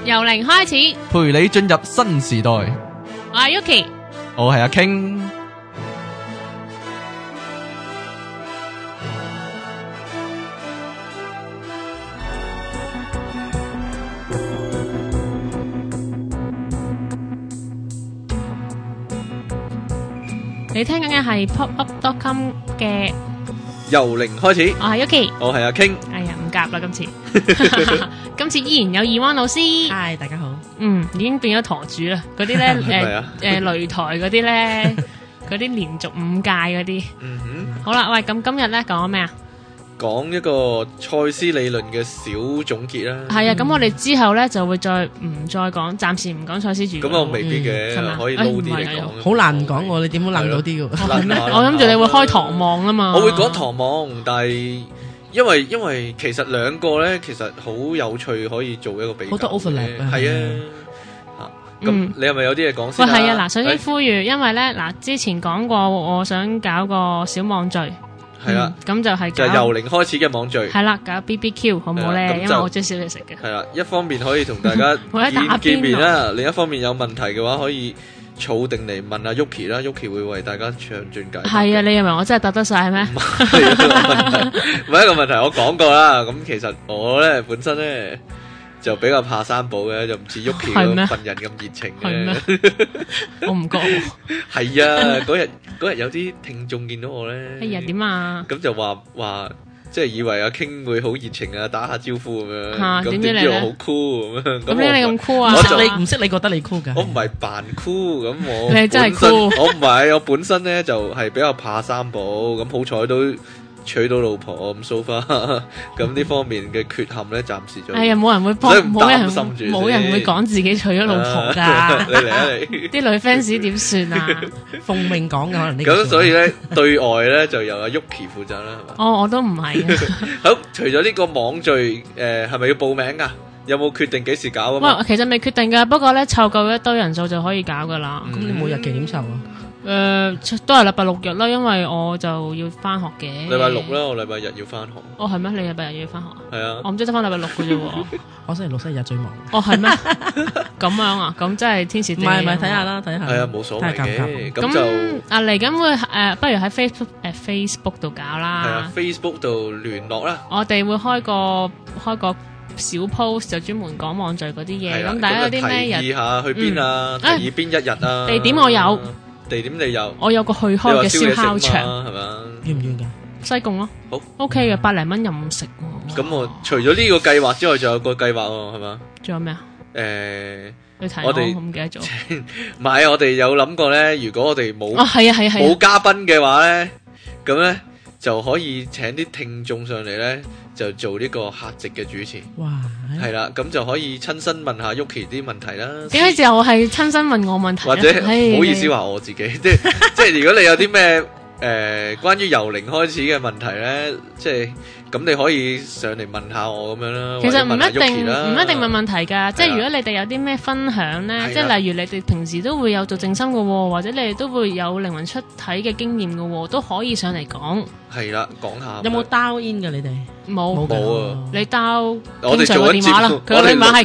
由零開始， 陪你進入新時代。 我係 Yuki， 我係阿 King。 你聽緊嘅係 popup.com 嘅由零開始， 我係 Yuki， 我係阿 King。 哎呀唔夾啦今次，今次依然有二灣老師。 嗨，大家好。 已經變咗舵主啦，嗰啲咧擂台嗰啲咧，嗰啲連續5屆嗰啲。好啦，喂，咁今日咧講咩啊？ 講一個賽斯理論嘅小總結啦。 係啊，咁我哋之後咧就會唔再講，暫時唔講賽斯主義。 咁我未必嘅，可以撈啲嚟講。 好難講喎，你點會諗到啲嘅？ 我諗住你會開唐望啊嘛。 我會講唐望，但係因為其實兩個咧，其實好有趣，可以做一個比較。 好多 overlap 啊。 係啊。咁你係咪有啲嘢講先？ 喂，係啊，嗱，首先呼籲，因為咧嗱，之前講過，我想搞個小網聚。係啦，咁就係就由零開始嘅網聚。 係啦，搞 BBQ 好唔好咧？因為我中意燒嘢食嘅。係啦，一方面可以同大家見面啦，另一方面有問題嘅話可以儲定嚟問阿 Yuki 啦 ，Yuki 會為大家詳盡解答。 係啊，你認為我真係答得晒咩？ 唔係一個問題，我講過啦。咁其實我咧本身咧就比較怕生寶嘅，就唔似 Yuki 嗰份人咁熱情嘅。 我唔覺。 係啊，嗰日有啲聽眾見到我咧。 哎呀，點啊？ 咁就話即係以為阿 King 會好熱情啊，打下招呼咁樣。 咁點知我好 cool 咁樣。 咁你咁 cool 啊？ 你唔識你覺得你 cool 噶？ 我唔係扮 cool，咁我你真係 cool。 我唔係，我本身咧就係比較怕生寶，咁好彩都娶到老婆咁 so far，咁呢方面嘅缺陷咧暫時就。 哎呀，冇人會幫，冇人會講自己娶咗老婆噶。 你嚟啊你！ 啲女 fans 點算啊？ 奉命講嘅可能呢。 咁所以咧對外咧就由阿 Yuki 負責啦，係嘛？ 哦，我都唔係。 好，除咗呢個網聚，係咪要報名噶？有冇決定幾時搞啊？ 喂，其實未決定噶，不過咧湊夠一堆人數就可以搞噶啦。 咁你每日幾點湊啊？ 都係禮拜六日啦，因為我就要翻學嘅。 禮拜六啦，我禮拜日要翻學。 哦，係咩？你禮拜日要翻學啊？ 係啊。 我唔知得翻禮拜六嘅啫喎。 我星期六、星期日最忙。 哦，係咩？咁樣啊？咁真係天時地利。 唔係，睇下啦，睇下。 係啊，冇所謂嘅。咁就嚟緊會不如喺Facebook 度搞啦。 係啊 ，Facebook 度聯絡啦。 我哋會開個小 post 就專門講網聚嗰啲嘢。咁大家有啲咩日？ 提議下去邊啊？提議邊一日啊？ 地點我有。 地點你有？ 我有個去開嘅燒烤場， 係嘛？ 遠唔遠噶？ 西貢咯。 好 OK 嘅，100零蚊任食。 咁我除咗呢個計劃之外，仲有個計劃喎，係嘛？ 仲有咩啊？ 你睇我哋唔記得咗。 唔係，我哋有諗過咧，如果我哋冇冇嘉賓嘅話咧，咁咧就可以請啲聽眾上嚟咧，就做呢個客席嘅主持。 哇！ 係啦，咁就可以親身問下 Yuki 啲問題啦。 點解就係親身問我問題？ 或者唔好意思話我自己，即係如果你有啲咩關於由零開始嘅問題咧，即係咁你可以上嚟問下我咁樣啦。 其實唔一定問問題㗎，即係如果你哋有啲咩分享咧，即係例如你哋平時都會有做靜心嘅喎，或者你哋都會有靈魂出體嘅經驗嘅喎，都可以上嚟講。 係啦，講下。 有冇 dial in 㗎你哋？ 冇啊！ 你 dial 我哋做緊節目， 佢個電話係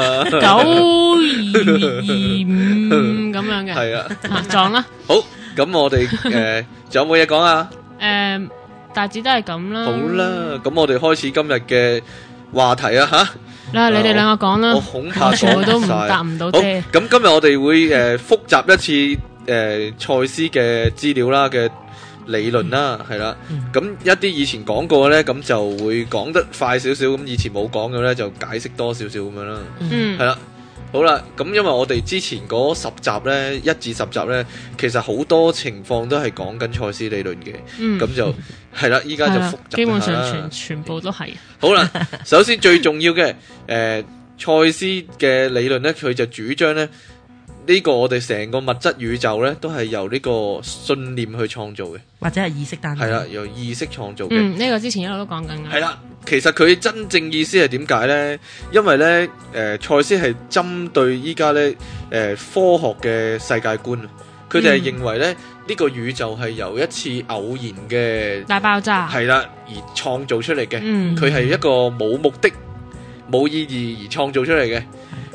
99225咁樣嘅。 係啊， 撞啦。 好，咁我哋仲有冇嘢講啊？ 大致都係咁啦。 好啦，咁我哋開始今日嘅話題啊吓。 你哋兩個講啦。 我恐怕全部都答唔到啫。 咁今日我哋會複習一次賽斯嘅資料啦嘅理論啦，係啦。咁一啲以前講過嘅咧，咁就會講得快少少；咁以前冇講嘅咧，就解釋多少少咁樣啦。係啦。好啦，咁因為我哋之前嗰10集呢，1至10集呢，其實好多情況都係講緊賽斯理論嘅，咁就係啦，依家就複習基本上全部都係。 好啦，首先最重要嘅，賽斯嘅理論呢，佢就主張呢，呢個我哋成個物質宇宙呢，都係由呢個信念去創造嘅， 或者係意識誕生。 係啦，由意識創造嘅。 呢個之前一路都講緊嘅。 係啦。其實佢真正意思係點解呢？因為呢，賽斯係針對依家呢，科學嘅世界觀，佢哋係認為呢，呢個宇宙係由一次偶然嘅大爆炸係啦而創造出嚟嘅，佢係一個冇目的、冇意義而創造出嚟嘅。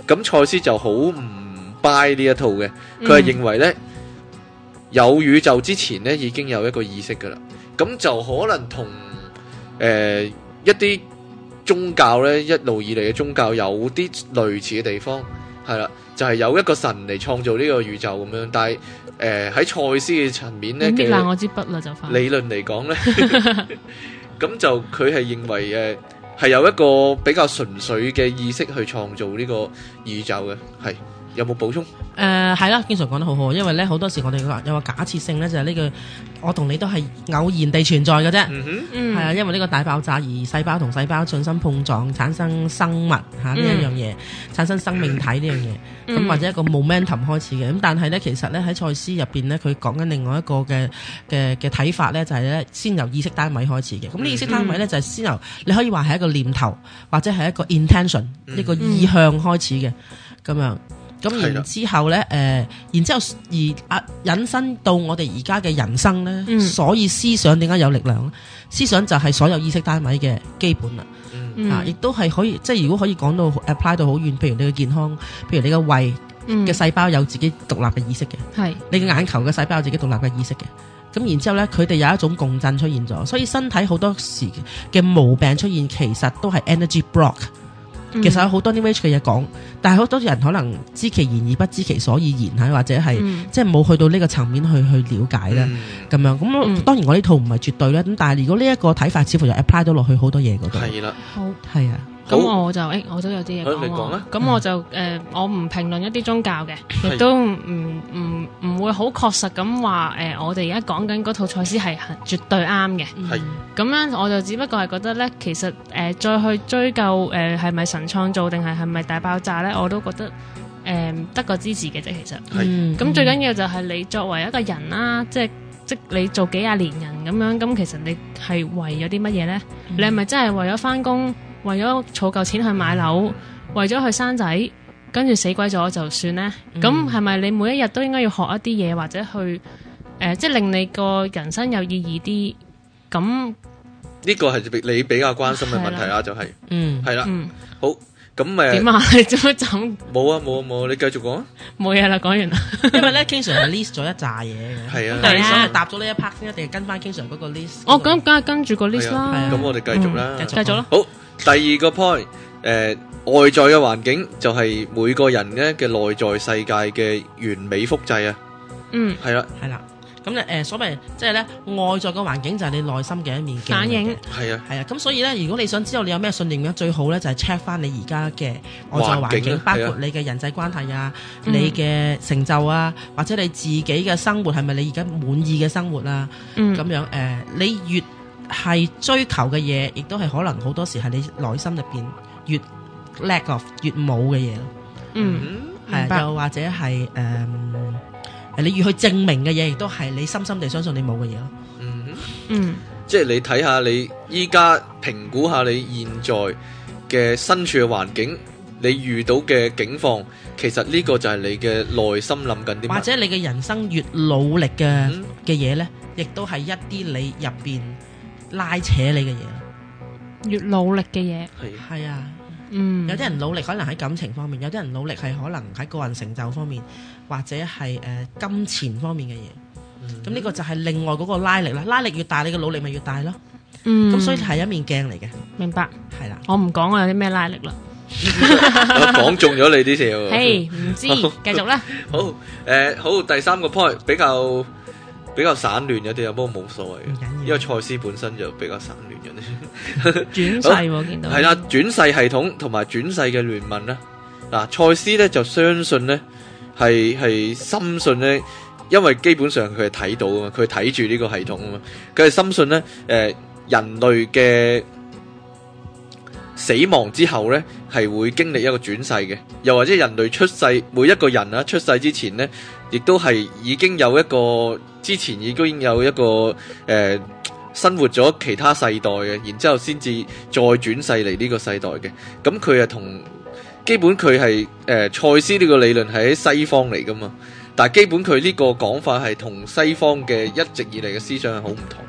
咁賽斯就好唔 buy 呢一套嘅，佢係認為呢，有宇宙之前呢已經有一個意識噶啦，咁就可能同一啲宗教呢一路以嚟嘅宗教有啲類似嘅地方，係啦，就係有一個神嚟創造呢個宇宙咁樣，但係喺賽斯嘅層面呢， 搣爛我支筆啦就快。 理論嚟講呢，咁就佢係認為係有一個比較純粹嘅意識去創造呢個宇宙嘅，係有冇補充？ 係啦，經常講得好好，因為咧好多時我哋有個假設性咧，就係呢個我同你都係偶然地存在嘅啫，係啊，因為呢個大爆炸而細胞同細胞進行碰撞，產生生物呢一樣嘢，產生生命體呢樣嘢，咁或者一個 momentum 開始嘅。咁但係咧，其實咧喺賽斯入邊咧，佢講緊另外一個嘅睇法咧，就係咧先由意識單位開始嘅。咁呢意識單位咧就係先由你可以話係一個念頭或者係一個 intention 一個意向開始嘅咁樣。咁然之後咧，然之後而引申到我哋而家嘅人生咧，所以思想點解有力量咧？思想就係所有意識單位嘅基本啦，亦都係可以，即係如果可以講到 apply 到好遠，譬如你嘅健康，譬如你嘅胃嘅細胞有自己獨立嘅意識嘅，係你嘅眼球嘅細胞有自己獨立嘅意識嘅，咁然之後咧，佢哋有一種共振出現咗，所以身體好多時嘅毛病出現，其實都係 energy block。其實有好多 New Age 嘅嘢講，但係好多人可能知其然而不知其所以然，或者係即係冇去到呢個層面去了解啦，咁樣咁當然我呢套唔係絕對啦，咁但係如果呢一個睇法似乎就 apply 到落去好多嘢嗰度，係啦，好係啊。 咁我就我都有啲嘢講，咁我就我唔評論一啲宗教嘅，亦都唔會好確實咁話我哋而家講緊嗰套賽斯係絕對啱嘅。係咁樣，我就只不過係覺得咧，其實再去追究係咪神創造定係咪大爆炸咧，我都覺得得個支持嘅啫。其實係咁最緊要就係你作為一個人啦，即你做幾廿年人咁樣，咁其實你係為咗啲乜嘢咧？你係咪真係為咗返工？為咗儲夠錢去買樓，為咗去生仔，跟住死鬼咗就算呢？咁係咪你每一日都應該要學一啲嘢，或者去即係令你個人生有意義啲？咁呢個係你比較關心嘅問題啦，就係係啦，好咁點啊？你做乜咁？冇啊冇啊冇，你繼續講啊！冇嘢啦，講完啦。 因為咧，King Sir 係 list 咗一紮嘢嘅，係啊。但係你想係答咗呢一 part 先，一定係跟翻 King Sir 嗰個 list。哦，咁梗係跟住個 list 啦。咁我哋繼續啦，繼續啦。好。第二個 point，外在嘅環境就係每個人咧嘅內在世界嘅完美複製啊。係啦，係啦。咁咧，所謂即係咧，外在嘅環境就係你內心嘅一面鏡反映。 係啊，係啊。咁所以咧，如果你想知道你有咩信念嘅，最好咧就係 check 翻你而家嘅外在環境，包括你嘅人際關係啊，你嘅成就啊，或者你自己嘅生活係咪你而家滿意嘅生活啊？咁樣你越係追求嘅嘢，亦都係可能好多時係你內心入邊越 lack of 越冇嘅嘢咯。係又或者係你越去證明嘅嘢，亦都係你深深地相信你冇嘅嘢咯。即係你睇下你依家評估下你現在嘅身處嘅環境，你遇到嘅境況，其實呢個就係你嘅內心諗緊啲乜，或者你嘅人生越努力嘅嘢咧，亦都係一啲你入邊拉扯你嘅嘢，越努力嘅嘢係啊，有啲人努力可能喺感情方面，有啲人努力係可能喺個人成就方面，或者係金錢方面嘅嘢。咁呢個就係另外嗰個拉力啦，拉力越大，你嘅努力咪越大咯。咁所以係一面鏡嚟嘅。明白，係啦。我唔講我有啲咩拉力啦。我講中咗你啲嘢。嘿，唔知，繼續啦。好，好，第三個 point 比較散亂有啲啊，不過冇所謂嘅，因為賽斯本身就比較散亂嘅。轉世我見到係啦，轉世系統同埋轉世嘅聯盟啦。嗱，賽斯咧就相信咧係深信咧，因為基本上佢係睇到啊嘛，佢睇住呢個系統啊嘛，佢係深信咧人類嘅死亡之後咧係會經歷一個轉世嘅，又或者人類出世每一個人啊出世之前咧，亦都係已經有一個之前已經有一個生活咗其他世代嘅，然之後先至再轉世嚟呢個世代嘅。咁佢係同基本佢係賽斯呢個理論係喺西方嚟噶嘛，但係基本佢呢個講法係同西方嘅一直以嚟嘅思想係好唔同嘅。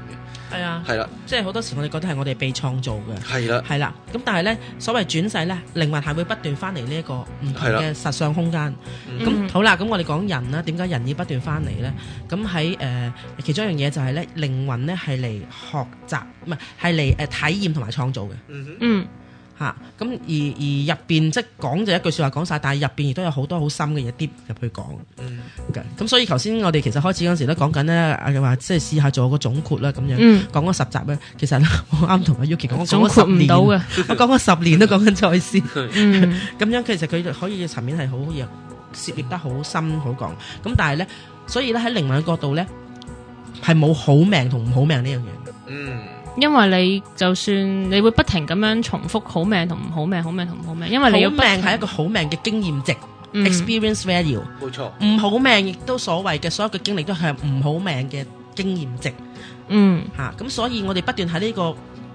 係啊， 係啦， 即係好多時我哋覺得係我哋被創造嘅， 係啦， 係啦。咁但係咧，所謂轉世咧，靈魂係會不斷翻嚟呢一個唔同嘅實相空間。咁好啦，咁我哋講人啦，點解人要不斷翻嚟咧？咁喺其中一樣嘢就係咧，靈魂咧係嚟學習，唔係嚟體驗同埋創造嘅。嚇，咁而入邊即係講就一句説話講晒，但係入邊亦都有好多好深嘅嘢跌入去講。咁所以頭先我哋其實開始嗰陣時都講緊咧，話即係試下做個總括啦咁樣。講咗10集咧，其實我啱同阿 Yuki 講，我講咗10年，我講咗10年都講緊賽斯。咁樣其實佢可以層面係好嘢，涉獵得好深好講。咁但係咧，所以咧喺靈魂嘅角度咧，係冇好命同唔好命呢樣嘢。 因為你就算你會不停咁樣重複好命同唔好命，好命同唔好命，因為你要好命係一個好命嘅經驗值，experience value， 冇錯。 唔好命亦都所謂嘅所有嘅經歷都係唔好命嘅經驗值。咁所以我哋不斷喺呢個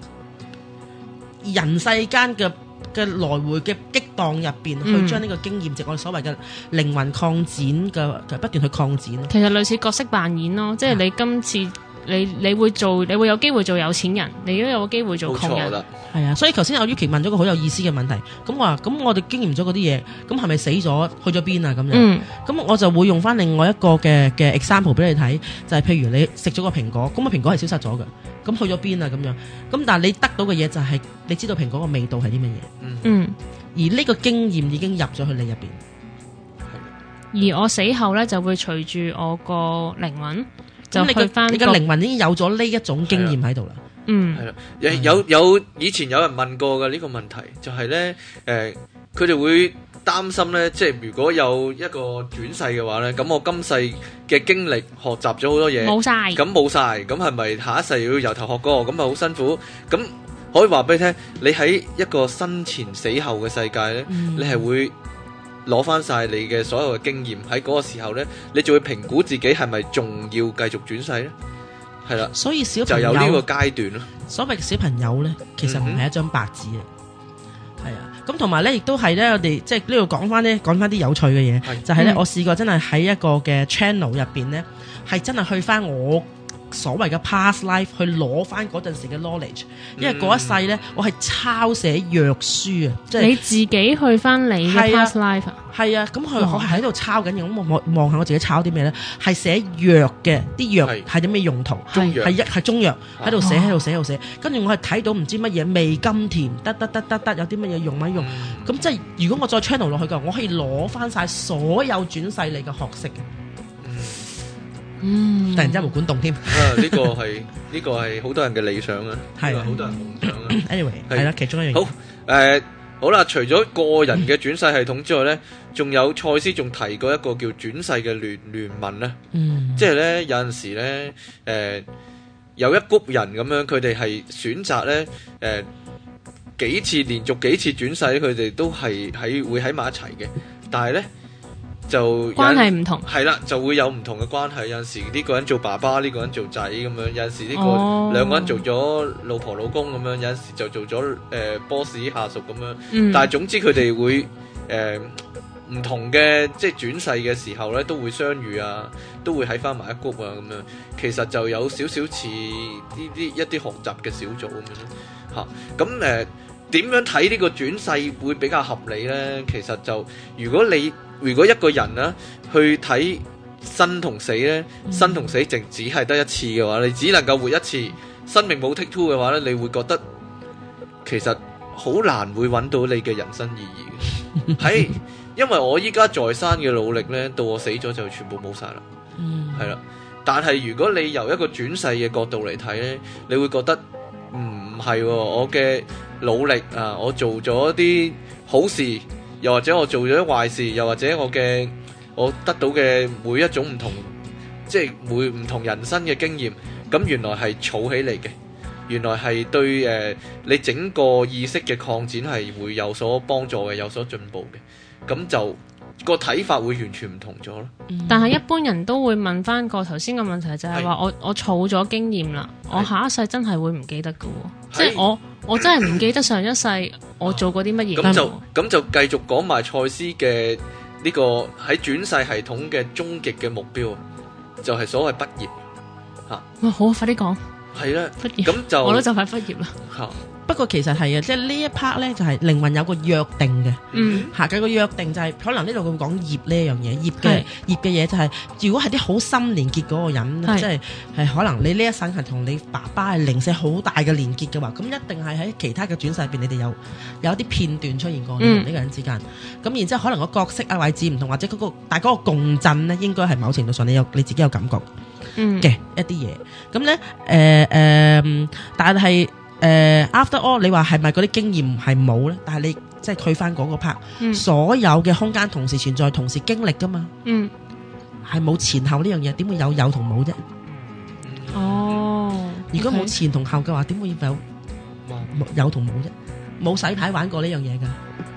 人世間嘅來回嘅激盪入邊，去將呢個經驗值，我哋所謂嘅靈魂擴展嘅不斷去擴展。 其實類似角色扮演咯，即係你今次。你會有機會做有錢人，你都有機會做窮人。 係啊，所以頭先阿 Yuki 問咗個好有意思嘅問題，咁話咁我哋經驗咗嗰啲嘢，咁係咪死咗去咗邊啊？咁樣，咁我就會用翻另外一個嘅 example 俾你睇，就係譬如你食咗個蘋果，咁個蘋果係消失咗嘅，咁去咗邊啊？咁樣，咁但係你得到嘅嘢就係你知道蘋果個味道係啲乜嘢，而呢個經驗已經入咗去你入邊， 而我死後咧就會隨住我個靈魂。咁你嘅靈魂已經有咗呢一種經驗喺度啦。 係啦，有以前有人問過嘅呢個問題，就係咧，佢哋會擔心咧，即係如果有一個轉世嘅話咧，咁我今世嘅經歷學習咗好多嘢，冇晒，咁係咪下一世要由頭學過？咁咪好辛苦。咁可以話俾你聽，你喺一個生前死後嘅世界咧，你係會攞翻晒你嘅所有嘅經驗，喺嗰個時候呢，你就會評估自己係咪仲要繼續轉世呢？係啦，所以小朋友就有呢個階段咯。所謂嘅小朋友呢，其實唔係一張白紙啊，係啊。咁同埋呢，亦都係呢，我哋即係呢度講翻啲有趣嘅嘢，就係呢，我試過真係喺一個嘅 channel 入邊呢，係真係去翻我所謂嘅 past life 去攞翻嗰陣時嘅 knowledge， 因為嗰一世咧，我係抄寫藥書啊，即係你自己去翻你嘅 past life 啊，係啊，咁我係喺度抄緊嘅，咁我望下我自己抄啲咩咧，係寫藥嘅，啲藥係啲咩用途，係中藥喺度寫，跟住我係睇到唔知乜嘢味甘甜，得，有啲乜嘢用乜用，咁即係如果我再 channel 落去嘅，我可以攞翻晒所有轉世嚟嘅學識嘅。突然之間毛管動添，呢個係好多人嘅理想啊，係好多人夢想啊。Anyway， 係啦，其中一樣好好啦。除咗個人嘅轉世系統之外咧，仲有賽斯仲提過一個叫轉世嘅聯盟咧，即係咧有陣時咧有一谷人咁樣，佢哋係選擇咧連續幾次轉世，佢哋都係會喺埋一齊嘅，但係咧。就關係唔同，係啦，就會有唔同嘅關係。有陣時呢個人做爸爸，呢個人做仔咁樣；有陣時呢個兩個人做咗老婆老公咁樣；有陣時就做咗boss 下屬咁樣。但係總之佢哋會唔同嘅，即係轉世嘅時候咧，都會相遇啊，都會喺翻埋一谷啊咁樣。其實就有少少似一啲學習嘅小組咁樣嚇。咁點樣睇呢個轉世會比較合理咧？其實就如果一個人啊去睇生同死咧，生同死淨只係得一次嘅話，你只能夠活一次，生命冇 take two 嘅話咧，你會覺得其實好難會揾到你嘅人生意義嘅。係因為我依家在生嘅努力咧，到我死咗就全部冇晒啦。係啦，但係如果你由一個轉世嘅角度嚟睇咧，你會覺得唔係我嘅努力啊，我做咗啲好事。又或者我做咗壞事，又或者我得到嘅每一種唔同，即係每唔同人生嘅經驗，咁原來係儲起嚟嘅，原來係對你整個意識嘅擴展係會有所幫助嘅，有所進步嘅，咁就個睇法會完全唔同咗咯。但係一般人都會問翻個頭先嘅問題，就係話我儲咗經驗啦，我下一世真係會唔記得㗎喎，即係我真係唔記得上一世我做過啲乜嘢。咁就繼續講埋賽斯嘅呢個喺轉世系統嘅終極嘅目標，就係所謂畢業嚇。好，快啲講。 係啦， 畢業咁就我都就快畢業啦。 不過其實係啊，即係呢一 part 咧就係靈魂有個約定嘅，嚇嘅個約定就係可能呢度會講業呢一樣嘢，業嘅嘢就係如果係啲好深連結嗰個人，即係可能你呢一生係同你爸爸係零舍好大嘅連結嘅話，咁一定係喺其他嘅轉世入邊，你哋有一啲片段出現過呢個人之間，咁然之後可能個角色啊位置唔同，或者但係嗰個共振咧，應該係某程度上你自己有感覺嘅一啲嘢，咁咧但係。after all， 你話係咪嗰啲經驗係冇咧？但係你即係退翻嗰個 part，所有嘅空間同時存在，同時經歷噶嘛？係冇前後呢樣嘢，點會有同冇啫？如果冇前同後嘅話，點會有同冇啫？冇洗牌玩過呢樣嘢噶。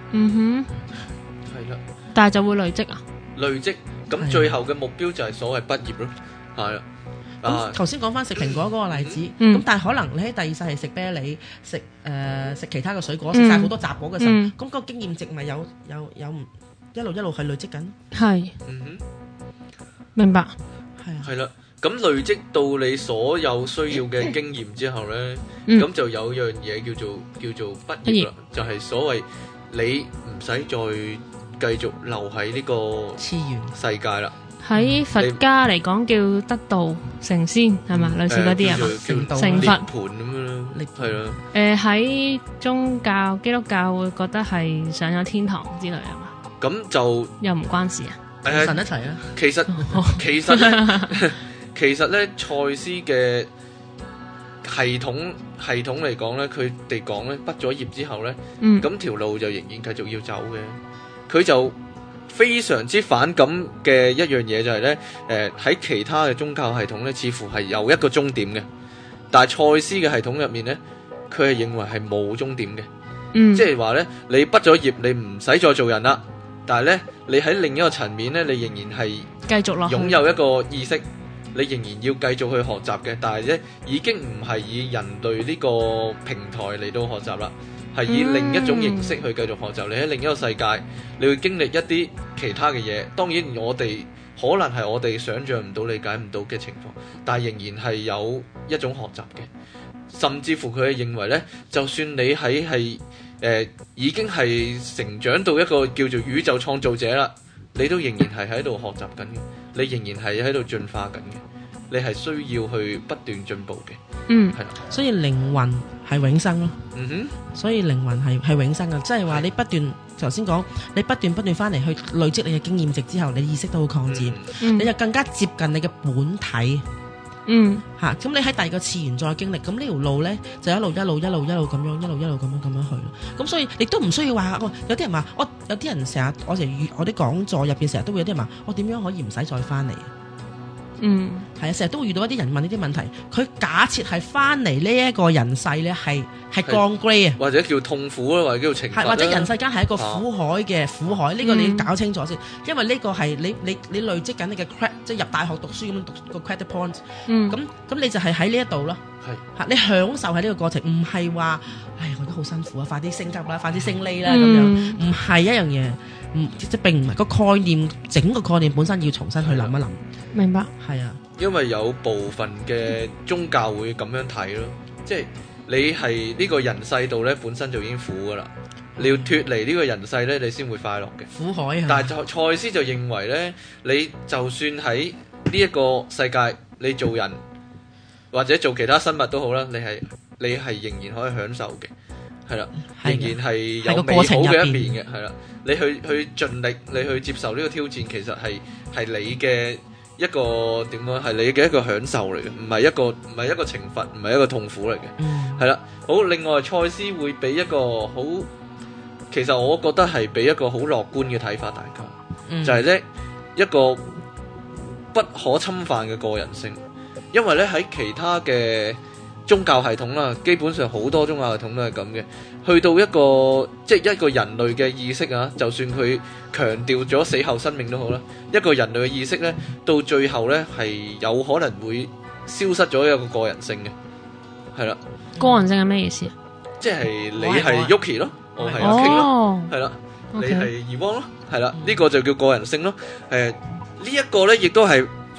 係啦。 但係就會累積啊？ 累積，咁最後嘅目標就係所謂畢業咯，係啦。 咁頭先講翻食蘋果嗰個例子，咁但係可能你喺第二世係食啤梨、食其他嘅水果，食晒好多雜果嘅時候，咁個經驗值咪有一路係累積緊。係， 明白。 係啦，咁累積到你所有需要嘅經驗之後咧，咁就有樣嘢叫做畢業啦，就係所謂你唔使再繼續留喺呢個次元世界啦。 喺佛家嚟講叫得道成仙係嘛，類似嗰啲啊，成佛盤咁樣係啦。 喺宗教基督教會覺得係上咗天堂之類係嘛？ 咁就又唔關事啊？ 神一齊啊！ 其實咧，賽斯嘅系統嚟講咧，佢哋講咧，畢咗業之後咧，咁條路就仍然繼續要走嘅。佢就非常之反感嘅一樣嘢就係咧，喺其他嘅宗教系統咧，似乎係有一個終點嘅，但係賽斯嘅系統入面咧，佢係認為係冇終點嘅，即係話咧，你畢咗業，你唔使再做人啦，但係咧，你喺另一個層面咧，你仍然係繼續落擁有一個意識，你仍然要繼續去學習嘅，但係咧已經唔係以人類呢個平台嚟到學習啦。係以另一種形式去繼續學習，你喺另一個世界，你會經歷一啲其他嘅嘢。當然我哋可能係我哋想象唔到、理解唔到嘅情況，但係仍然係有一種學習嘅。甚至乎佢係認為呢，就算你係已經係成長到一個叫做宇宙創造者啦，你都仍然係喺度學習緊嘅，你仍然係喺度進化緊嘅。你係需要去不斷進步嘅，係啦， 所以靈魂係永生咯，所以靈魂係永生嘅，即係話你不斷頭先講，你不斷翻嚟去累積你嘅經驗值之後，你意識都會擴展，你就更加接近你嘅本體，咁你喺第二個次元再經歷，咁呢條路咧就一路咁樣，一路咁樣去咯。咁所以亦都唔需要話，有啲人話有啲人成日我啲講座入邊成日都會有啲人話，我點樣可以唔使再翻嚟？係啊，成日都會遇到一啲人問呢啲問題，佢假設係翻嚟呢一個人世咧，係降 grade 啊， 或者叫痛苦啦，或者叫懲罰啦， 或者人世間係一個苦海嘅苦海，呢個你要搞清楚先，因為呢個係你累積緊你嘅 credit，即係入大學讀書咁樣讀個 credit point，咁你就係喺呢一度咯，你享受喺呢個過程，唔係話我而家好辛苦啊，快啲升級啦，快啲升呢啦咁樣，唔係一樣嘢。即並唔係個概念，整個概念本身要重新去諗一諗。 明白， 係啊， 因為有部分嘅宗教會咁樣睇咯，即係你係呢個人世度咧，本身就已經苦噶啦，你要脫離呢個人世咧，你先會快樂嘅。苦海啊！但係賽斯就認為咧，你就算喺呢一個世界，你做人或者做其他生物都好啦，你係仍然可以享受嘅。係啦，仍然係有美好嘅一面嘅，係啦。你去盡力，你去接受呢個挑戰，其實係你嘅一個點講？係你嘅一個享受嚟嘅，唔係一個懲罰，唔係一個痛苦嚟嘅。係啦，好。另外，賽斯會俾一個好，其實我覺得係俾一個好樂觀嘅睇法，大家就係咧一個不可侵犯嘅個人性，因為咧喺其他嘅宗教系統啦，基本上好多宗教系統都係咁嘅。去到一個即係一個人類嘅意識啊，就算佢強調咗死後生命都好啦，一個人類嘅意識咧，到最後咧係有可能會消失咗一個人性嘅，係啦。 個人性係咩意思啊？ 即係你係 Yuki 咯，我係阿 King 咯，係啦，你係 Ewan 咯，係啦，呢個就叫個人性咯。呢一個咧亦都係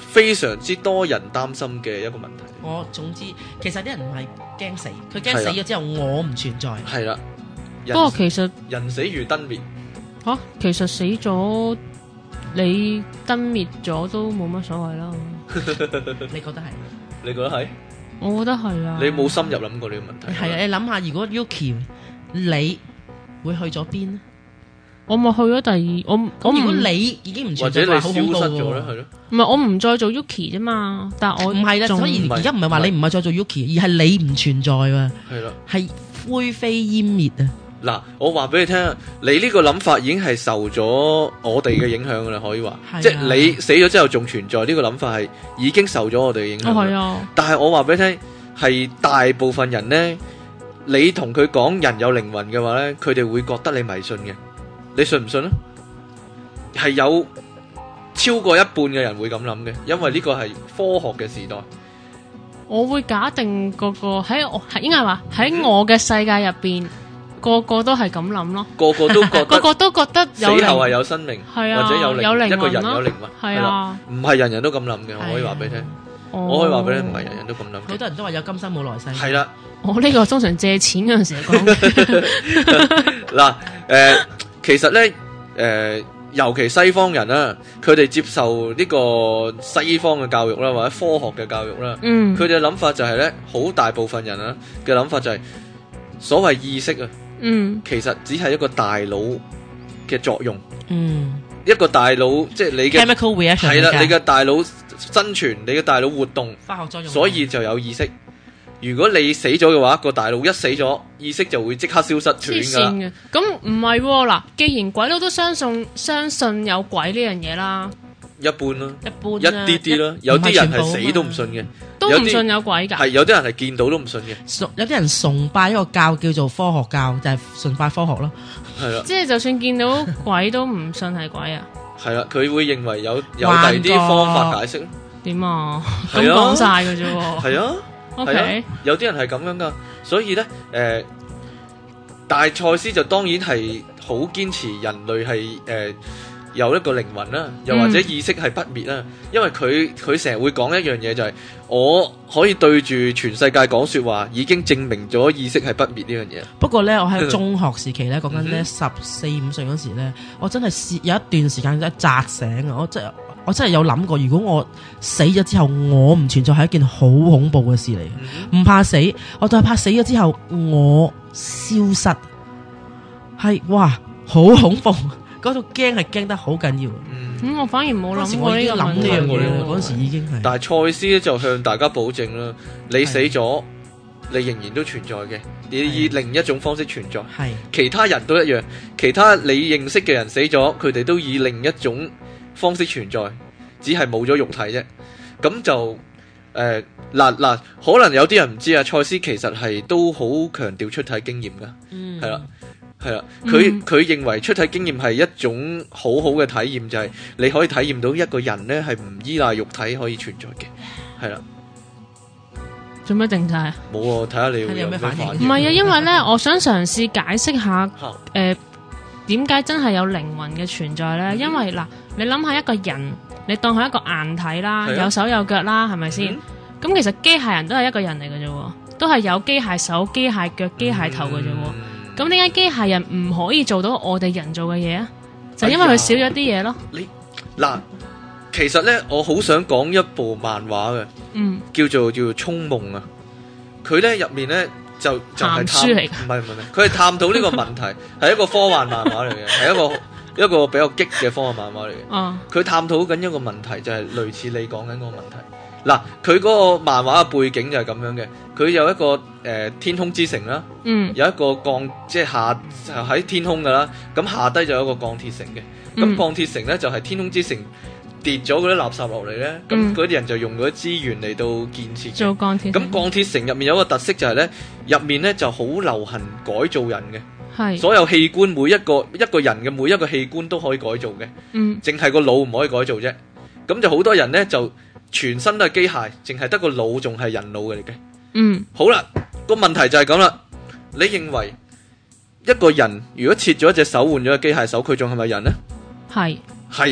非常之多人擔心嘅一個問題。 總之，其實啲人唔係驚死，佢驚死咗之後我唔存在。 係啦， 不過其實人死如燈滅。 其實死咗你燈滅咗都冇乜所謂啦。 你覺得係？ 你覺得係？ 我覺得係啊。 你冇深入諗過呢個問題？ 係啊，你諗下，如果 Yuki 你會去咗邊咧？ 我咪去咗第二，我如果你已經唔存在， 或者你消失咗咧，係咯？ 唔係，我唔再做 Yuki 啫嘛。但係我唔係啦，所以而家唔係話你唔係再做 Yuki，而係你唔存在喎。 係啦， 係灰飛煙滅啊！ 嗱，我話俾你聽，你呢個諗法已經係受咗我哋嘅影響噶啦，可以話，即係你死咗之後仲存在呢個諗法係已經受咗我哋嘅影響。 係啊，但係我話俾你聽，係大部分人呢，你同佢講人有靈魂嘅話呢，佢哋會覺得你迷信嘅。你信唔信啊？係有超過一半嘅人會咁諗嘅，因為呢個係科學嘅時代。 我會假定個喺我應該係話喺我嘅世界入邊，個個都係咁諗咯。個個都覺得死後係有生命，或者有靈魂，一個人有靈魂，係啊，唔係人人都咁諗嘅。我可以話俾你聽，我可以話俾你聽，唔係人人都咁諗。 好多人都話有今生冇來世。 係啦， 我呢個通常借錢嗰陣時講。 嗱，其實咧，尤其西方人啦，佢哋接受呢個西方嘅教育啦，或者科學嘅教育啦，佢哋嘅諗法就係咧，好大部分人啊嘅諗法就係所謂意識啊，其實只係一個大腦嘅作用，一個大腦即係你嘅 chemical reaction 係啦，你嘅大腦生存，你嘅大腦活動， 化學作用， 所以就有意識。如果你死咗嘅話，個大腦一死咗，意識就會即刻消失斷㗎啦。 咁唔係嗱，既然鬼佬都相信有鬼呢樣嘢啦， 一般啦， 一啲啲啦，有啲人係死都唔信嘅， 都唔信有鬼㗎。 係有啲人係見到都唔信嘅。 有啲人崇拜一個教叫做科學教，就係崇拜科學咯。係啦， 即係就算見到鬼都唔信係鬼啊。 係啦，佢會認為有第二啲方法解釋咯。 點啊？咁講晒㗎啫喎。係啊。 Okay. 有啲人係咁樣噶，所以呢，但係賽斯就當然係好堅持人類係有一個靈魂啦，又或者意識係不滅啦，因為佢成日會講一樣嘢就係我可以對住全世界講說話，已經證明咗意識係不滅呢樣嘢。 不過呢，我喺中學時期呢，講緊呢14-15歲嗰時呢，我真係有一段時間真係扎醒啊！我真係有諗過，如果我死咗之後我唔存在，係一件好恐怖嘅事嚟。唔怕死，我就係怕死咗之後我消失，係哇好恐怖，嗰度驚係驚得好緊要。 我反而冇諗過呢個問題。 嗰時已經係。 但係賽斯咧就向大家保證啦，你死咗，你仍然都存在嘅，你以另一種方式存在。係其他人都一樣，其他你認識嘅人死咗，佢哋都以另一種方式存在，只係冇咗肉體啫。咁就嗱，可能有啲人唔知啊。賽斯其實係都好強調出體經驗噶，係啦，佢認為出體經驗係一種好好嘅體驗，就係你可以體驗到一個人呢係唔依賴肉體可以存在嘅，係啦。 做咩定晒啊？ 冇啊，睇下你會有咩反應。 唔係啊，因為呢，我想嘗試解釋下點解真係有靈魂嘅存在呢？因為嗱，你諗下一個人，你當佢一個硬體啦，有手有腳啦，係咪先？咁其實機械人都係一個人嚟嘅啫，都係有機械手、機械腳、機械頭嘅啫。咁點解機械人唔可以做到我哋人做嘅嘢啊？就因為佢少咗啲嘢咯。 嗱，其實呢，我好想講一部漫畫嘅，叫做《銃夢》啊。佢呢入面呢。就係書嚟， 唔係，佢係探討呢個問題，係一個科幻漫畫嚟嘅，係一個比較激嘅科幻漫畫嚟嘅。佢探討緊一個問題，就係類似你講緊嗰個問題。嗱，佢嗰個漫畫嘅背景就係咁樣嘅，佢有一個天空之城啦，有一個即係就喺天空噶啦，咁下低就有一個鋼鐵城嘅，咁鋼鐵城咧就係天空之城。跌咗嗰啲垃圾落嚟咧，咁嗰啲人就用嗰啲資源嚟到建設做鋼鐵。 咁鋼鐵城入面有一個特色就係咧，入面咧就好流行改造人嘅， 係所有器官每一個人嘅每一個器官都可以改造嘅，淨係個腦唔可以改造啫。咁就好多人咧就全身都係機械，淨係得個腦仲係人腦嘅嚟嘅。好啦，個問題就係咁啦。你認為一個人如果切咗一隻手換咗個機械手，佢仲係咪人呢？係。咁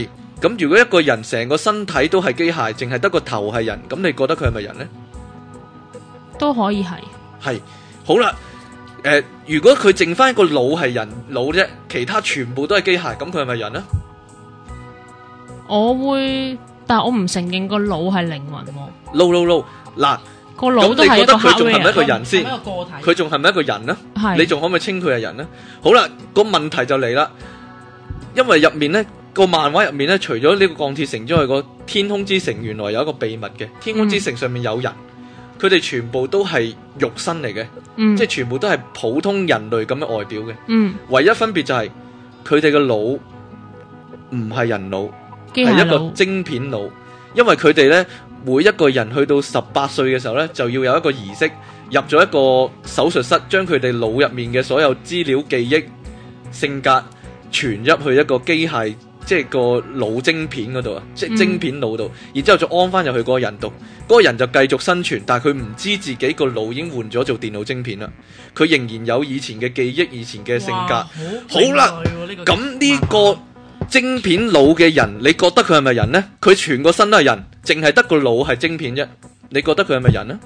咁如果一個人成個身體都係機械，淨係得個頭係人，咁你覺得佢係咪人呢？ 都可以係。 係，好啦，如果佢剩翻一個腦係人腦啫，其他全部都係機械，咁佢係咪人呢？ 我會，但我唔承認個腦係靈魂喎。 No，嗱， 個腦都係一個 hardware， 佢仲係咪一個人先？佢仲係咪一個人呢？ 係。 你仲可唔可以稱佢係人呢？好啦，個問題就嚟啦，因為入面呢個漫畫入面呢，除咗呢個鋼鐵城之外，個天空之城原來有一個秘密嘅，天空之城上面有人。佢哋全部都係肉身嚟嘅，即係全部都係普通人類咁嘅外表嘅。唯一分別就係佢哋嘅腦唔係人腦，係一個晶片腦。因為佢哋呢，每一個人去到18歲嘅時候呢，就要有一個儀式，入咗一個手術室，將佢哋腦入面嘅所有資料、記憶、性格傳入去一個機械，即係個腦晶片嗰度啊，即係晶片腦度，然之後再安翻入去嗰個人度。嗰個人就繼續生存，但係佢唔知自己個腦已經換咗做電腦晶片啦。佢仍然有以前嘅記憶、以前嘅性格。好啦，咁呢個晶片腦嘅人，你覺得佢係咪人呢？佢全個身都係人，淨係得個腦係晶片啫。你覺得佢係咪人呢？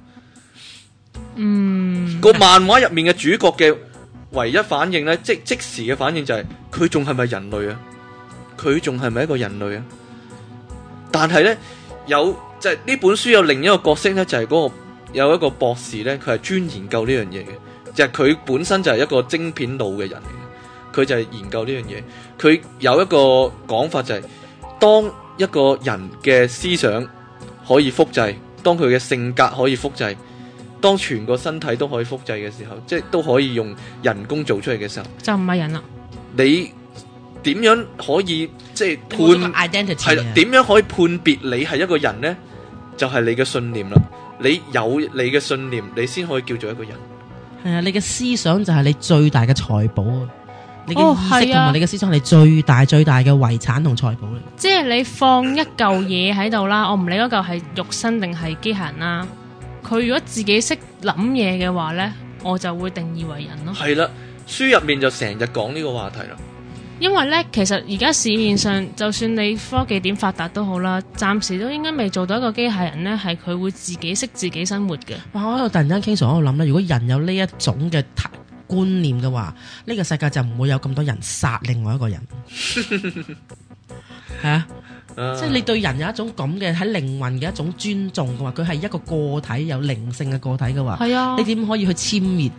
個漫畫入面嘅主角嘅唯一反應呢，即時嘅反應就係佢仲係咪人類啊？佢仲係咪一個人類啊？但係呢，就係呢本書有另一個角色呢，就係嗰個有一個博士呢，佢係專研究呢樣嘢嘅，就係佢本身就係一個晶片腦嘅人嚟嘅，佢就係研究呢樣嘢。佢有一個講法就係，當一個人嘅思想可以複製，當佢嘅性格可以複製，當全個身體都可以複製嘅時候，即係都可以用人工做出嚟嘅時候，就唔係人啦。你點樣可以即係判係啦？點樣可以判別你係一個人呢？就係你嘅信念啦。你有你嘅信念，你先可以叫做一個人。 係啊，你嘅思想就係你最大嘅財寶啊！你嘅意識同埋你嘅思想係你最大最大嘅遺產同財寶嚟。 即係你放一嚿嘢喺度啦，我唔理嗰嚿係肉身定係機械人啦。佢如果自己識諗嘢嘅話呢，我就會定義為人咯。係啦， 書入面就成日講呢個話題啦。 因為咧，其實而家市面上，就算你科技點發達都好啦，暫時都應該未做到一個機械人咧，係佢會自己識自己生活嘅。 哇！我喺度突然間傾常喺度諗咧，如果人有呢一種嘅觀念嘅話，呢個世界就唔會有咁多人殺另外一個人。係啊，即係你對人有一種咁嘅喺靈魂嘅一種尊重嘅話，佢係一個個體有靈性嘅個體嘅話，係啊，你點可以去殲滅？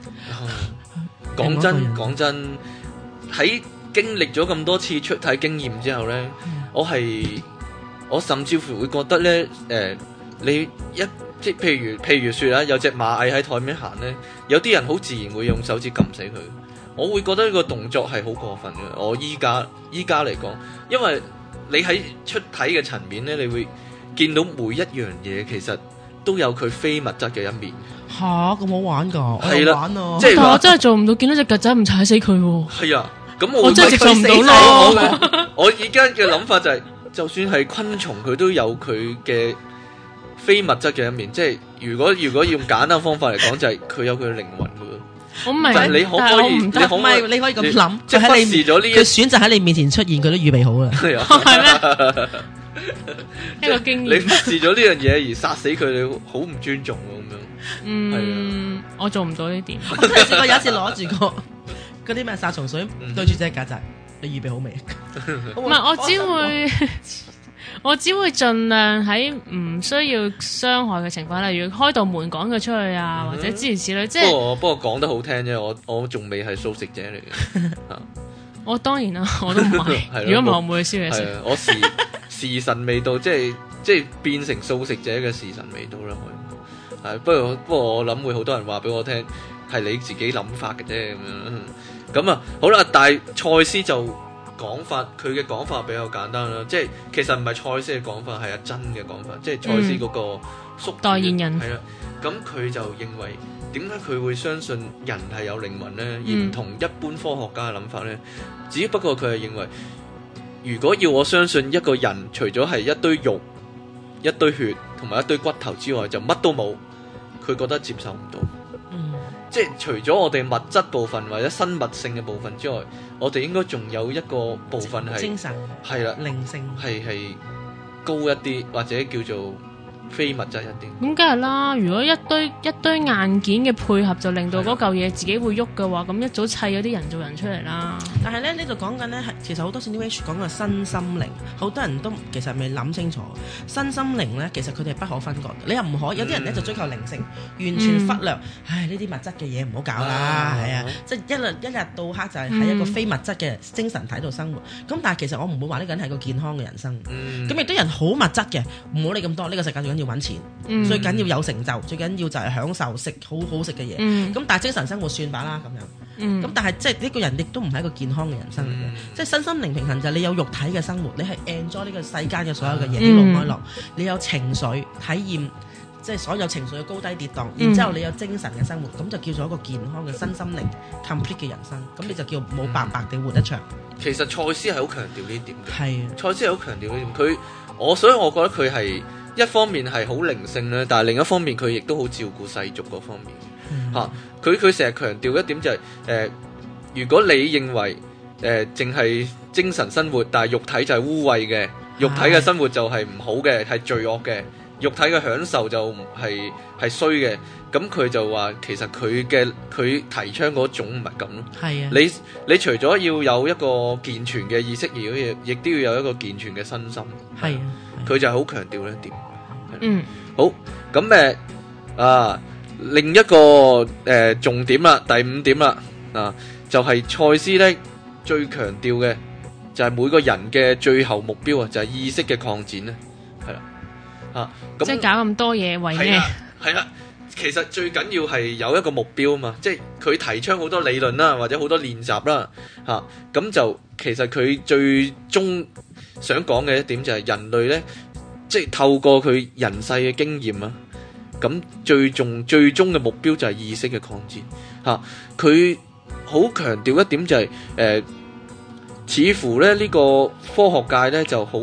講真喺經歷咗咁多次出體經驗之後呢，我甚至乎會覺得呢，你即係譬如說啊，有隻螞蟻喺台面行呢，有啲人好自然會用手指撳死佢。我會覺得呢個動作係好過分嘅。我依家嚟講，因為你喺出體嘅層面呢，你會見到每一樣嘢其實都有佢非物質嘅一面。 吓，咁好玩噶？ 係啦， 即係我真係做唔到，見到隻曱甴唔踩死佢。係啊。咁我真係做唔到咯。 我而家嘅諗法就係，就算係昆蟲，佢都有佢嘅非物質嘅一面。即係如果要用簡單方法嚟講，就係佢有佢嘅靈魂噶。我明，但係你可唔可以？ 你可以咁諗， 即係忽視咗呢？ 佢選擇喺你面前出現，佢都預備好啦。 係啊， 係咩？一個經驗。 你忽視咗呢樣嘢而殺死佢，你好唔尊重咁樣。 我做唔到呢點。 我有一次攞住個嗰啲咩殺蟲水對住隻曱甴，你預備好未？ 唔係，我只會盡量喺唔需要傷害嘅情況，例如開道門趕佢出去啊，或者諸如此類。即係不過講得好聽啫，我仲未係素食者嚟嘅。 我當然啦，我都唔係。如果唔係，我唔會去燒嘢食。 我時辰未到，即係變成素食者嘅時辰未到啦。係，不過我諗會好多人話俾我聽，係你自己諗法嘅啫咁樣。咁啊，好啦，但係賽斯就講法，佢嘅講法比較簡單啦，即係其實唔係賽斯嘅講法，係阿珍嘅講法，即係賽斯嗰個宿代言人。 係啦，咁佢就認為點解佢會相信人係有靈魂呢？而唔同一般科學家嘅諗法呢？只不過佢係認為，如果要我相信一個人除咗係一堆肉、一堆血同埋一堆骨頭之外，就乜都冇，佢覺得接受唔到。 即係除咗我哋物質部分或者生物性嘅部分之外，我哋應該仲有一個部分係精神， 係啦， 靈性係高一啲，或者叫做非物質一啲。 咁梗係啦，如果一堆硬件嘅配合就令到嗰嚿嘢自己會喐嘅話，咁一早砌咗啲人造人出嚟啦。 但係咧呢度講緊咧係其實好多 New Age 講嘅身心靈，好多人都其實未諗清楚身心靈咧，其實佢哋係不可分割嘅。你又唔可以有啲人咧就追求靈性，完全忽略，唉呢啲物質嘅嘢唔好搞啦，係啊，即係一日到黑就係喺一個非物質嘅精神體度生活。咁但係其實我唔會話呢個人係個健康嘅人生。咁亦都人好物質嘅，唔好理咁多。呢個世界最緊要揾錢，最緊要有成就，最緊要就係享受食好好食嘅嘢。咁但係精神生活算吧啦咁樣。咁但係即係呢個人亦都唔係一個健康嘅人生嚟嘅。即係身心靈平衡就係你有肉體嘅生活，你係 enjoy 呢個世間嘅所有嘅嘢，喜怒哀樂，你有情緒體驗，即係所有情緒嘅高低跌宕，然之後你有精神嘅生活，咁就叫做一個健康嘅身心靈 complete 嘅人生。咁你就叫冇白白地活得長。 其實賽斯係好強調呢點嘅。 係賽斯係好強調呢點，所以我覺得佢係一方面係好靈性咧，但係另一方面佢亦都好照顧世俗嗰方面。佢成日強調一點就係如果你認為淨係精神生活，但係肉體就係污穢嘅，肉體嘅生活就係唔好嘅，係罪惡嘅，肉體嘅享受就係衰嘅，咁佢就話其實佢提倡嗰種唔係咁咯。係啊，你除咗要有一個健全嘅意識，亦都要有一個健全嘅身心。係啊，佢就係好強調呢一點。好，咁另一個重點啦，第5點啦，就係賽斯咧最強調嘅就係每個人嘅最後目標啊，就係意識嘅擴展咧，係啦，咁即係搞咁多嘢為咩？ 係啦，其實最緊要係有一個目標啊嘛，即係佢提倡好多理論啦，或者好多練習啦，咁就其實佢最終想講嘅一點就係人類咧，即係透過佢人世嘅經驗啊。咁最終嘅目標就係意識嘅擴展。佢好強調一點就係似乎咧呢個科學界咧就好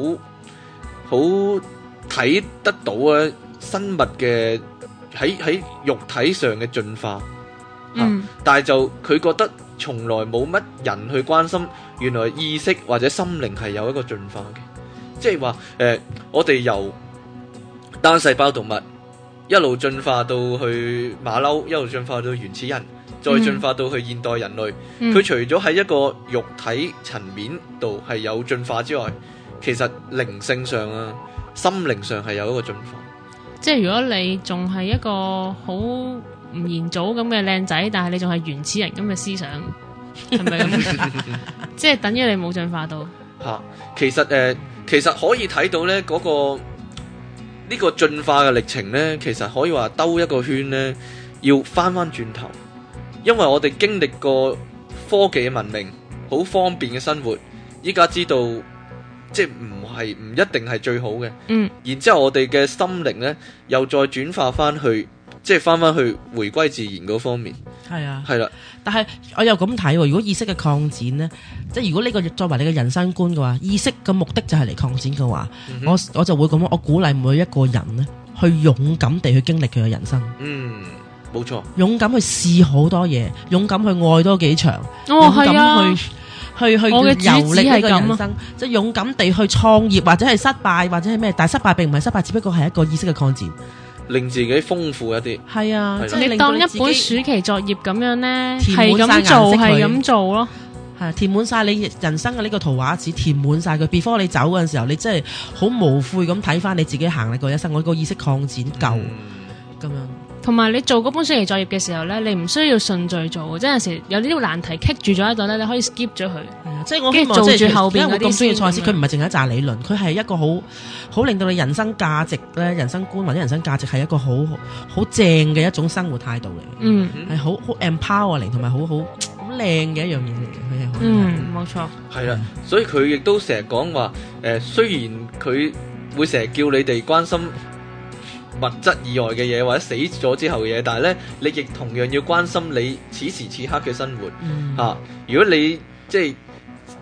睇得到啊生物嘅喺肉體上嘅進化。但係就佢覺得從來冇乜人去關心原來意識或者心靈係有一個進化嘅，即係話我哋由單細胞動物一路進化到去馬騮，一路進化到原始人，再進化到去現代人類。佢除咗喺一個肉體層面度係有進化之外，其實靈性上啊、心靈上係有一個進化。 即係如果你仲係一個好吳彥祖咁嘅靚仔，但係你仲係原始人咁嘅思想，係咪咁？即係等於你冇進化到。 其實可以睇到咧嗰個。呢個進化嘅歷程呢，其實可以話兜一個圈呢，要翻轉頭，因為我哋經歷過科技嘅文明，好方便嘅生活，依家知道即係唔一定係最好嘅。然之後我哋嘅心靈呢，又再轉化翻去，即係翻去回歸自然嗰方面。係啊，係啦。 但係我又咁睇，如果意識嘅擴展呢，即係如果呢個作為你嘅人生觀嘅話，意識嘅目的就係嚟擴展嘅話，我就會咁樣，我鼓勵每一個人呢，去勇敢地去經歷佢嘅人生。 冇錯。勇敢去試好多嘢，勇敢去愛多幾場， 勇敢去遊歷呢個人生，即係勇敢地去創業或者係失敗或者係咩，但係失敗並唔係失敗，只不過係一個意識嘅擴展。 令自己豐富一啲， 係啊，你當一本暑期作業咁樣咧，係咁做咯， 係填滿晒你人生嘅呢個圖畫紙，填滿晒佢。before 你走嗰陣時候，你真係好無悔咁睇翻你自己行嚟過一生，我個意識擴展夠咁樣。 同埋你做嗰本暑期作業嘅時候咧，你唔需要順序做，即係有時有呢啲難題棘住咗喺度咧，你可以 skip 咗佢。 即係我希望即係後邊嗰啲咁中意賽斯，佢唔係淨係一紮理論，佢係一個好令到你人生價值咧、人生觀或者人生價值係一個好正嘅一種生活態度嚟。係好 empowering 同埋好靚嘅一樣嘢嚟嘅。 冇錯。 係啦，所以佢亦都成日講話雖然佢會成日叫你哋關心物質以外嘅嘢或者死咗之後嘅嘢，但係咧你亦同樣要關心你此時此刻嘅生活。如果你即係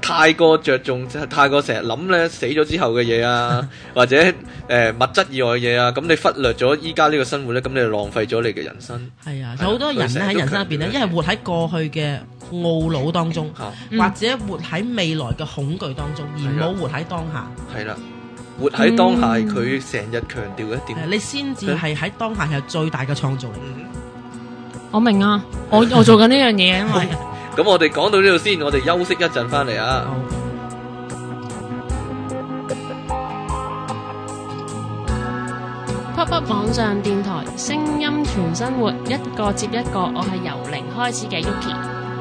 太過着重，太過成日諗咧死咗之後嘅嘢啊，或者物質以外嘅嘢啊，咁你忽略咗依家呢個生活咧，咁你就浪費咗你嘅人生。 係啊，有好多人咧喺人生入邊咧，一係活喺過去嘅懊惱當中，或者活喺未來嘅恐懼當中，而冇活喺當下。係啦。活喺當下，佢成日強調一點，你先至係喺當下係最大嘅創造力。 我明啊，我做緊呢樣嘢啊嘛。 咁我哋講到呢度先，我哋休息一陣翻嚟啊。 Pop Up 網上電台，聲音全生活，一個接一個。我係由零開始嘅 Yuki。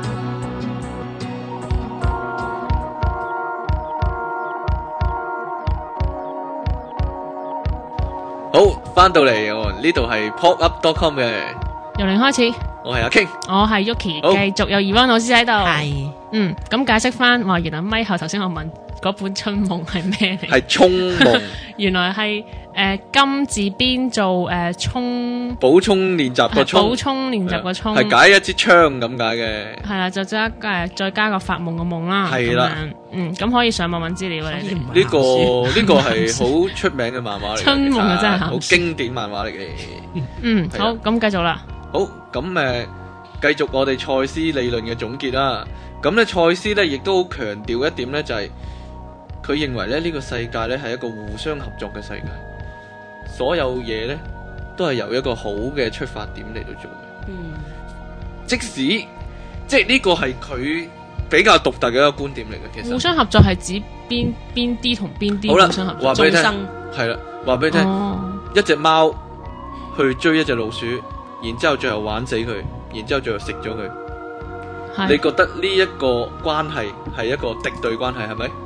好，翻到嚟呢度係 popup.com 嘅， 由零開始， 我係阿 King， 我係 Yuki， 繼續有Yvonne老師喺度。 係， 咁解釋翻話，原來咪後頭先我問嗰本春夢係咩嚟？ 係聰夢， 原來係金字邊做充補充練習個充， 補充練習個充， 係解一支槍咁解嘅。係啦，就再加個發夢個夢啦。 係啦， 咁可以上網揾資料嘅。 呢個係好出名嘅漫畫嚟嘅， 春夢啊真係好經典漫畫嚟嘅。 好，咁繼續啦。 好，咁繼續我哋賽斯理論嘅總結啦。咁咧賽斯咧亦都好強調一點咧，就係佢認為咧呢個世界咧係一個互相合作嘅世界，所有嘢咧都係由一個好嘅出發點嚟到做嘅。即使即係呢個係佢比較獨特嘅一個觀點嚟嘅。其實互相合作係指邊啲同邊啲互相合作？話俾你聽，係啦，話俾你聽，一隻貓去追一隻老鼠，然之後最後玩死佢，然之後最後食咗佢。你覺得呢一個關係係一個敵對關係係咪？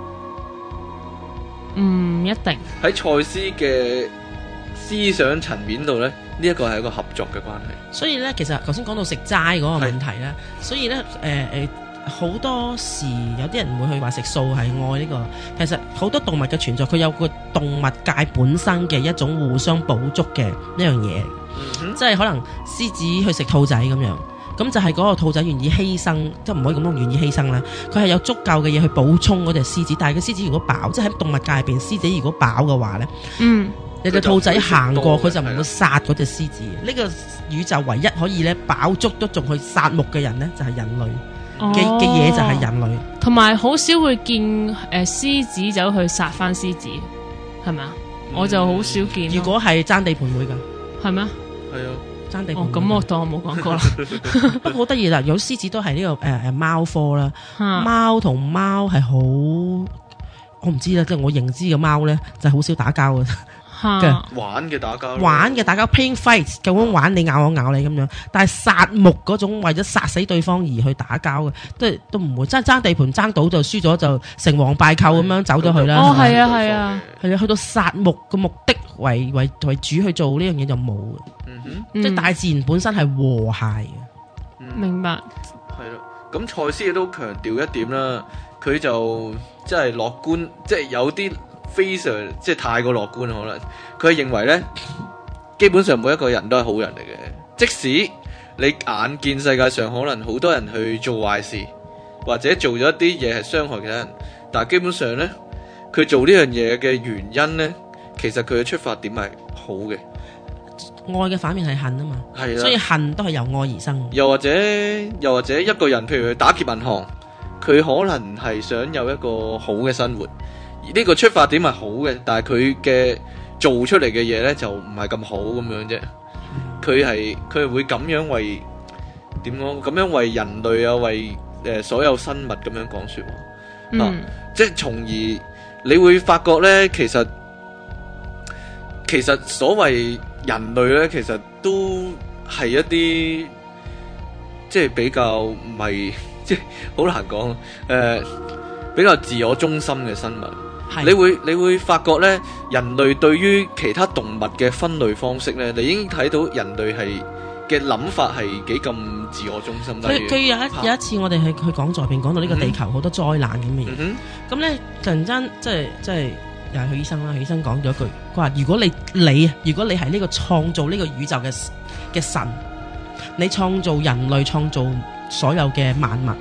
唔一定。喺賽斯嘅思想層面度咧，呢一個係一個合作嘅關係。所以咧，其實頭先講到食齋嗰個問題咧，所以咧好多時有啲人唔會去話食素係愛呢個。其實好多動物嘅存在，佢有個動物界本身嘅一種互相補足嘅呢樣嘢，即係可能獅子去食兔仔咁樣。咁就係嗰個兔仔願意犧牲，即係唔可以咁樣願意犧牲啦。佢係有足夠嘅嘢去補充嗰隻獅子，但係個獅子如果飽，即係喺動物界入邊，獅子如果飽嘅話咧，有隻兔仔行過，佢就唔會殺嗰隻獅子。呢個宇宙唯一可以咧飽足都仲去殺戮嘅人咧，就係人類嘅嘢，就係人類。同埋好少會見獅子走去殺翻獅子，係咪啊？我就好少見。如果係爭地盤會㗎，係咩？係啊。咁我當我冇講過啦。不過好得意啦，有獅子都係呢個貓科啦。貓同貓係好，我唔知啦，即係我認知嘅貓咧就係好少打交嘅。玩嘅打交 playing fight， 咁樣玩你咬我咬你咁樣。但係殺戮嗰種為咗殺死對方而去打交嘅，都唔會爭地盤爭到就輸咗就成王敗寇咁樣走咗去啦。哦，係啊，係啊，係啊，去到殺戮嘅目的為主去做呢樣嘢就冇嘅。即係大自然本身係和諧嘅。明白。係啦，咁賽斯亦都強調一點啦，佢就即係樂觀，即係有啲非常即係太過樂觀，可能佢認為呢，基本上每一個人都係好人嚟嘅，即使你眼見世界上可能好多人去做壞事，或者做咗一啲嘢係傷害其他人，但係基本上呢，佢做呢樣嘢嘅原因呢，其實佢嘅出發點係好嘅。愛嘅反面係恨啊嘛，係啦，所以恨都係由愛而生。又或者一個人，譬如去打劫銀行，佢可能係想有一個好嘅生活，而呢個出發點係好嘅，但係佢嘅做出嚟嘅嘢呢就唔係咁好咁樣啫。佢係會咁樣為點講？咁樣為人類啊，為所有生物咁樣講說話。即係從而你會發覺呢，其實所謂人類咧，其實都係一啲即係比較唔係，即係好難講，比較自我中心嘅生物。你會發覺咧，人類對於其他動物嘅分類方式咧，你已經睇到人類係嘅諗法係幾咁自我中心。佢有一次我哋去講座入邊講到呢個地球好多災難咁嘅嘢，咁咧突然間即係。又係許醫生啦，許醫生講咗一句，佢話如果你係呢個創造呢個宇宙嘅神，你創造人類，創造所有嘅萬物，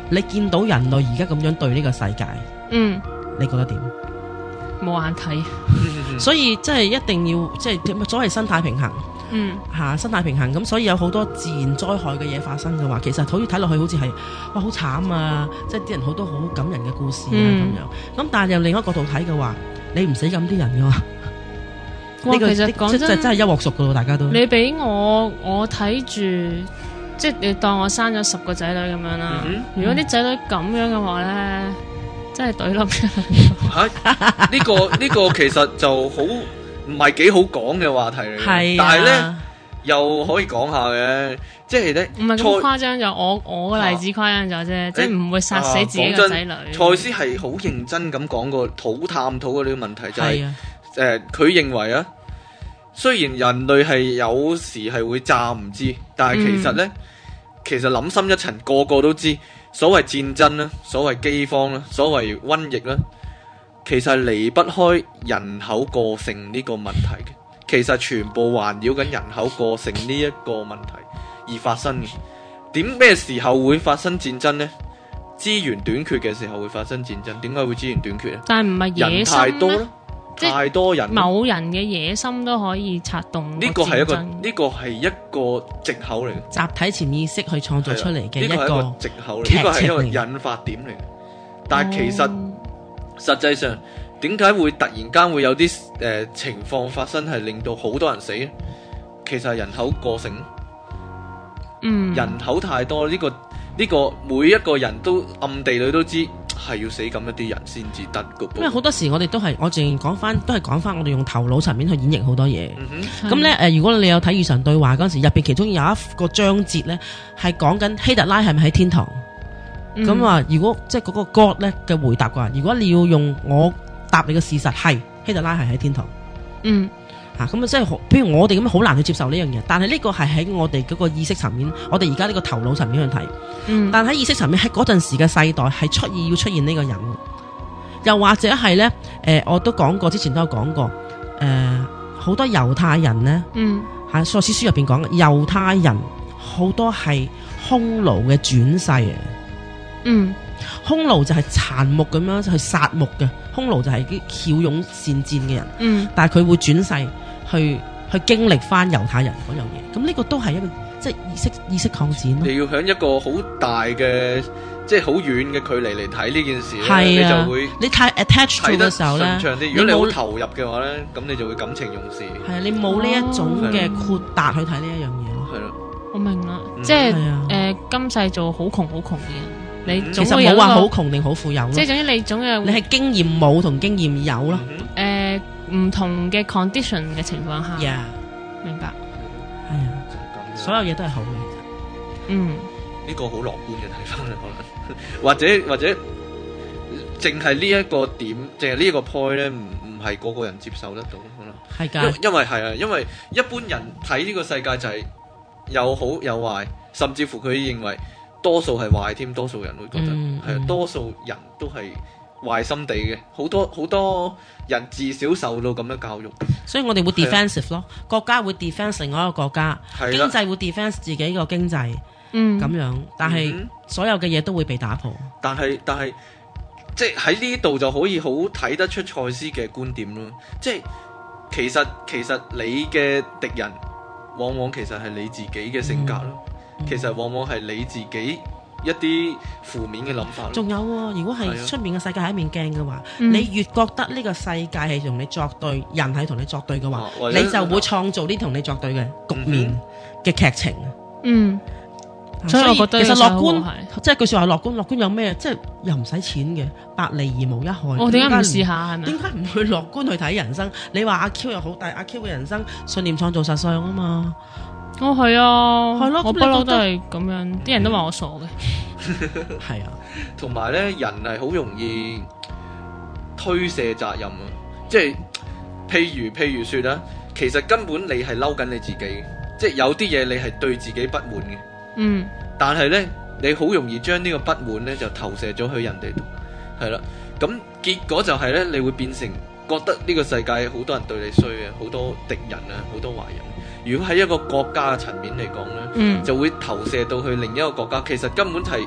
你見到人類而家咁樣對呢個世界，你覺得點？ 冇眼睇， 所以即係一定要即係所謂生態平衡。生態平衡咁，所以有好多自然災害嘅嘢發生嘅話，其實好似睇落去好似係哇好慘啊！即係啲人好多好感人嘅故事啊咁樣。咁但係由另一個角度睇嘅話，你唔死咁啲人嘅話，呢個其實講真係一鑊熟噶咯，大家都。你俾我睇住，即係你當我生咗10個仔女咁樣啦。如果啲仔女咁樣嘅話咧，真係懟冧出嚟。 呢個其實就好。唔係幾好講嘅話題嚟嘅，但係咧又可以講下嘅，即係咧唔係咁誇張，就我個例子誇張咗啫，即係唔會殺死自己嘅仔女。 賽斯係好認真咁講過探討過呢個問題，就係佢認為啊，雖然人類係有時係會詐唔知，但係其實咧，其實諗深一層，個個都知，所謂戰爭啦，所謂饑荒啦，所謂瘟疫啦。其實係離不開人口過剩呢個問題嘅，其實全部環繞緊人口過剩呢一個問題而發生嘅。咩時候會發生戰爭呢？資源短缺嘅時候會發生戰爭。點解會資源短缺呢？ 但係唔係野心人太多啦，太多人， 某人嘅野心都可以策動呢個係一個藉口嚟嘅， 集體潛意識去創造出嚟嘅一個藉口嚟，呢個係一個引發點嚟嘅。但係其實實際上，點解會突然間會有啲情況發生，係令到好多人死呢？其實係人口過剩，人口太多，呢個每一個人都暗地裏都知係要死咁一啲人先至得嘅。 因為好多時我哋都係，我淨講翻，都係講翻我哋用頭腦層面去演繹好多嘢。咁咧如果你有睇《與神對話》嗰陣時，入邊其中有一個章節咧，係講緊希特拉係咪喺天堂？咁如果即係嗰個 God 咧嘅回答嘅話，如果你要用我答你嘅事實係希特拉係喺天堂，咁即係譬如我哋咁好難去接受呢樣嘢，但係呢個係喺我哋嗰個意識層面，我哋而家呢個頭腦層面去睇，但喺意識層面喺嗰陣時嘅世代係要出現呢個人，又或者係咧我都講過，之前都有講過，好多猶太人咧，喺賽斯書入邊講，猶太人好多係匈奴嘅轉世啊。匈奴就係殘木咁樣去殺木嘅，匈奴就係啲驍勇善戰嘅人，但係佢會轉世去經歷翻猶太人嗰樣嘢，咁呢個都係一個即係意識擴展咯。你要響一個好大嘅即係好遠嘅距離嚟睇呢件事咧，你就會你太 attach 嘅時候咧，如果你好投入嘅話咧，咁你就會感情用事。係啊，你冇呢一種嘅豁達去睇呢一樣嘢咯。係咯，我明啦，即係今世做好窮嘅人。你其實冇話好窮定好富有咯，即係總之你總有你係經驗冇同經驗有咯，唔同嘅 condition 嘅情況下，明白，係啊，所有嘢都係好嘅，呢個好樂觀嘅睇法可能，或者淨係呢一個點，淨係呢一個 point 咧，唔係個個人接受得到，可能係㗎，因為係啊，因為一般人睇呢個世界就係有好有壞，甚至乎佢認為。多數係壞添，多數人會覺得係多數人都係壞心地嘅，好多人自小受到咁樣教育，所以我哋會 defensive 咯，國家會 defense 另外一個國家，經濟會 defense 自己個經濟，咁樣，但係所有嘅嘢都會被打破。但係即係喺呢度就可以好睇得出賽斯嘅觀點咯，即係其實你嘅敵人往往其實係你自己嘅性格咯。其實往往係你自己一啲負面嘅諗法。仲有如果係出面嘅世界係一面鏡嘅話，你越覺得呢個世界係同你作對，人係同你作對嘅話，你就會創造啲同你作對嘅局面嘅劇情。所以我覺得其實樂觀，即係句說話，樂觀有咩？即係又唔使錢嘅，百利而無一害。我點解唔試下係咪？點解唔去樂觀去睇人生？你話阿 Q 又好，但係阿 Q 嘅人生信念創造實相啊嘛。係啊，係咯，我不嬲都係咁樣，啲人都話我傻嘅。係啊，同埋咧，人係好容易推卸責任啊，即係譬如說啦，其實根本你係嬲緊你自己，即係有啲嘢你係對自己不滿嘅，但係咧你好容易將呢個不滿咧就投射咗去人哋度，係啦，咁結果就係咧你會變成覺得呢個世界好多人對你衰嘅，好多敵人啊，好多壞人。如果喺一個國家嘅層面嚟講咧，就會投射到去另一個國家。其實根本係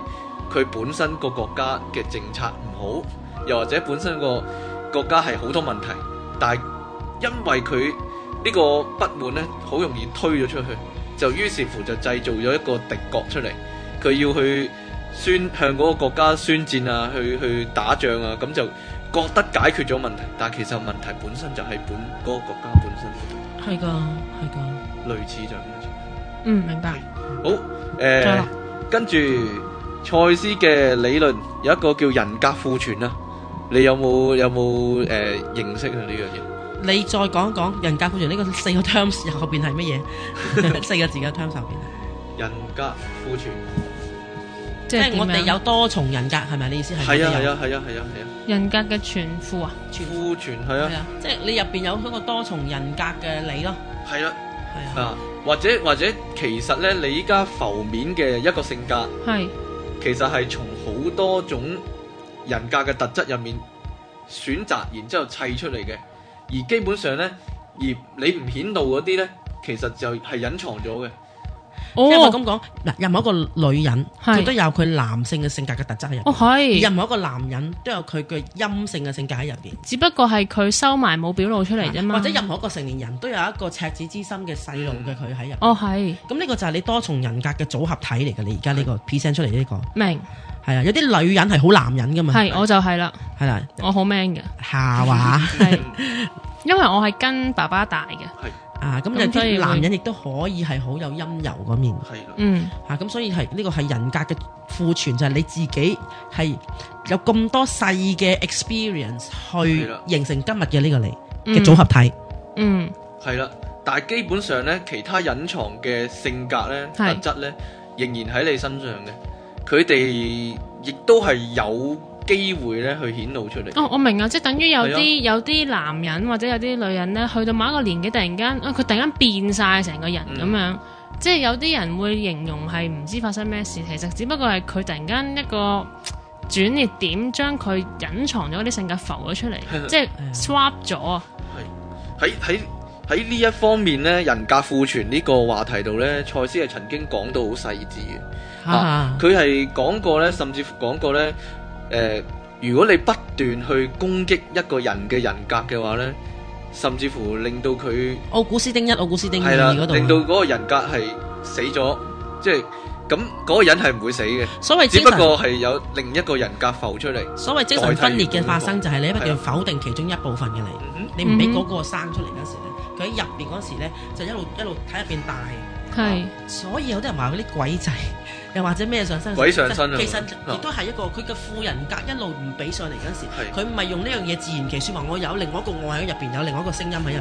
佢本身個國家嘅政策唔好，又或者本身個國家係好多問題，但係因為佢呢個不滿呢，好容易推咗出去，就於是乎就製造咗一個敵國出嚟，佢要去向嗰個國家宣戰啊，去打仗啊，咁就覺得解決咗問題，但係其實問題本身就係嗰個國家本身。 係噶，係噶， 類似就咁樣。 明白。 好，跟住賽斯嘅理論有一個叫人格庫存啊，你有冇認識啊呢樣嘢？ 你再講一講人格庫存呢個4個 terms 後邊係乜嘢？4個字嘅 terms 後邊。 人格庫存， 即係我哋有多重人格，係咪你意思係？係啊。 人格嘅存庫啊， 庫存係啊， 即係你入邊有嗰個多重人格嘅你咯。 係啦，係啊，或者其實咧，你依家浮面嘅一個性格，係其實係從好多種人格嘅特質入面選擇，然之後砌出嚟嘅。而基本上咧，而你唔顯露嗰啲咧，其實就係隱藏咗嘅。 即係我咁講，嗱，任何一個女人佢都有佢男性嘅性格嘅特質喺入邊，而任何一個男人都有佢嘅陰性嘅性格喺入邊， 只不過係佢收埋冇表露出嚟啫嘛。 或者任何一個成年人都有一個赤子之心嘅細路嘅佢喺入邊。 係。咁呢個就係你多重人格嘅組合體嚟嘅。你而家呢個 present 出嚟呢個明係啊，有啲女人係好男人噶嘛。 係，我就係啦。係啦，我好 man 嘅。下話係，因為我係跟爸爸大嘅。係。咁有啲男人亦都可以係好有陰柔嗰面，咁所以係呢個係人格嘅庫存，就係你自己係有咁多細嘅 experience 去形成今日嘅呢個你嘅組合體。 係啦，但係基本上咧，其他隱藏嘅性格咧、特質咧，仍然喺你身上嘅，佢哋亦都係有機會咧去顯露出嚟。 我明啊，即係等於有啲男人或者有啲女人咧，去到某一個年紀，突然間佢突然間變晒成個人咁樣，即係有啲人會形容係唔知發生咩事，其實只不過係佢突然間一個轉捩點，將佢隱藏咗啲性格浮咗出嚟，即係 swap 咗啊。 喺呢一方面咧，人格庫存呢個話題度咧，賽斯係曾經講到好細緻嘅。佢係講過咧，甚至乎講過咧。如果你不斷去攻擊一個人嘅人格嘅話呢，甚至乎令到佢奧古斯丁1、奧古斯丁2嗰度， 令到嗰個人格係死咗，即係咁嗰個人係唔會死嘅。 所謂只不過係有另一個人格浮出嚟。 所謂精神分裂嘅發生，就係你不斷否定其中一部分嘅你，你唔俾嗰個生出嚟嗰時咧，佢喺入邊嗰時咧就一路喺入邊大。所以有啲人話嗰啲鬼仔，又或者咩上身， 鬼上身， 其實亦都係一個佢嘅副人格一路唔俾上嚟嗰時，佢唔係用呢樣嘢自圓其說話，我有另外一個我喺入邊，有另外一個聲音喺入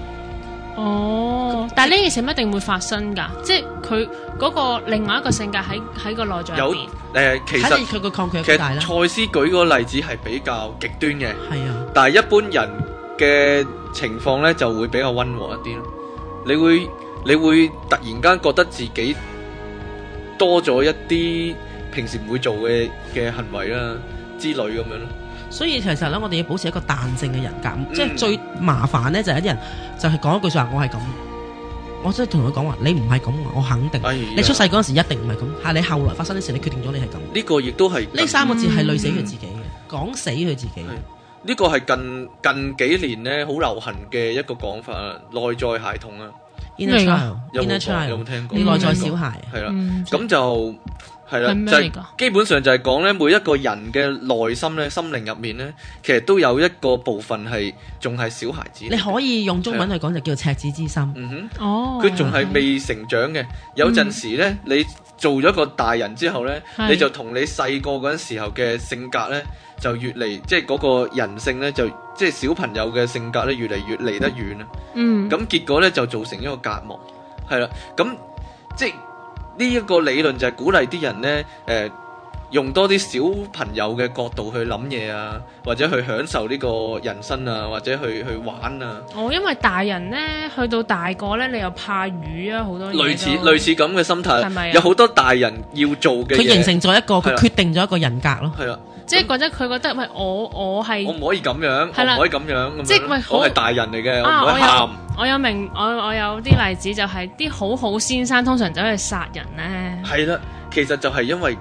邊。 但係呢件事一定會發生㗎，即係佢嗰個另外一個性格喺個內在入邊。 其實佢個抗拒幾大啦。 賽斯舉個例子係比較極端嘅，但係一般人嘅情況咧就會比較溫和一啲咯。你會突然間覺得自己多咗一啲平時唔會做嘅行為啦之類咁樣咯。 所以其實咧，我哋要保持一個彈性嘅人格，即係最麻煩咧就係一啲人就係講一句說話，我係咁，我真係同佢講話，你唔係咁，我肯定。你出世嗰陣時一定唔係咁，係你後來發生啲事，你決定咗你係咁。 呢個亦都係呢3個字係累死佢自己嘅，講死佢自己。 呢個係近幾年咧好流行嘅一個講法啊，內在孩童啊。 Inner child， 有冇聽過？ 你內在小孩係啦，咁就係啦，就係基本上就係講咧，每一個人嘅內心咧、心靈入面咧，其實都有一個部分係仲係小孩子。 你可以用中文去講就叫做赤子之心。 佢仲係未成長嘅。有陣時咧，你做咗個大人之後咧，你就同你細個嗰陣時候嘅性格咧，就越嚟即係嗰個人性咧，就即係小朋友嘅性格咧，越嚟越離得遠啦。咁結果咧就造成一個隔膜，係啦。咁即係呢一個理論就係鼓勵啲人咧，用多啲小朋友嘅角度去諗嘢啊，或者去享受呢個人生啊，或者去玩啊。因為大人咧去到大個咧，你又怕魚啊，好多嘢。類似咁嘅心態，係咪？有好多大人要做嘅嘢， 佢形成咗一個，佢決定咗一個人格咯。 係啦。 即係覺得佢覺得喂，我係我唔可以咁樣，我唔可以咁樣， 即係喂， 我係大人嚟嘅，我唔可以喊。 我有啲例子就係啲好先生通常走去殺人咧。 係啦，其實就係因為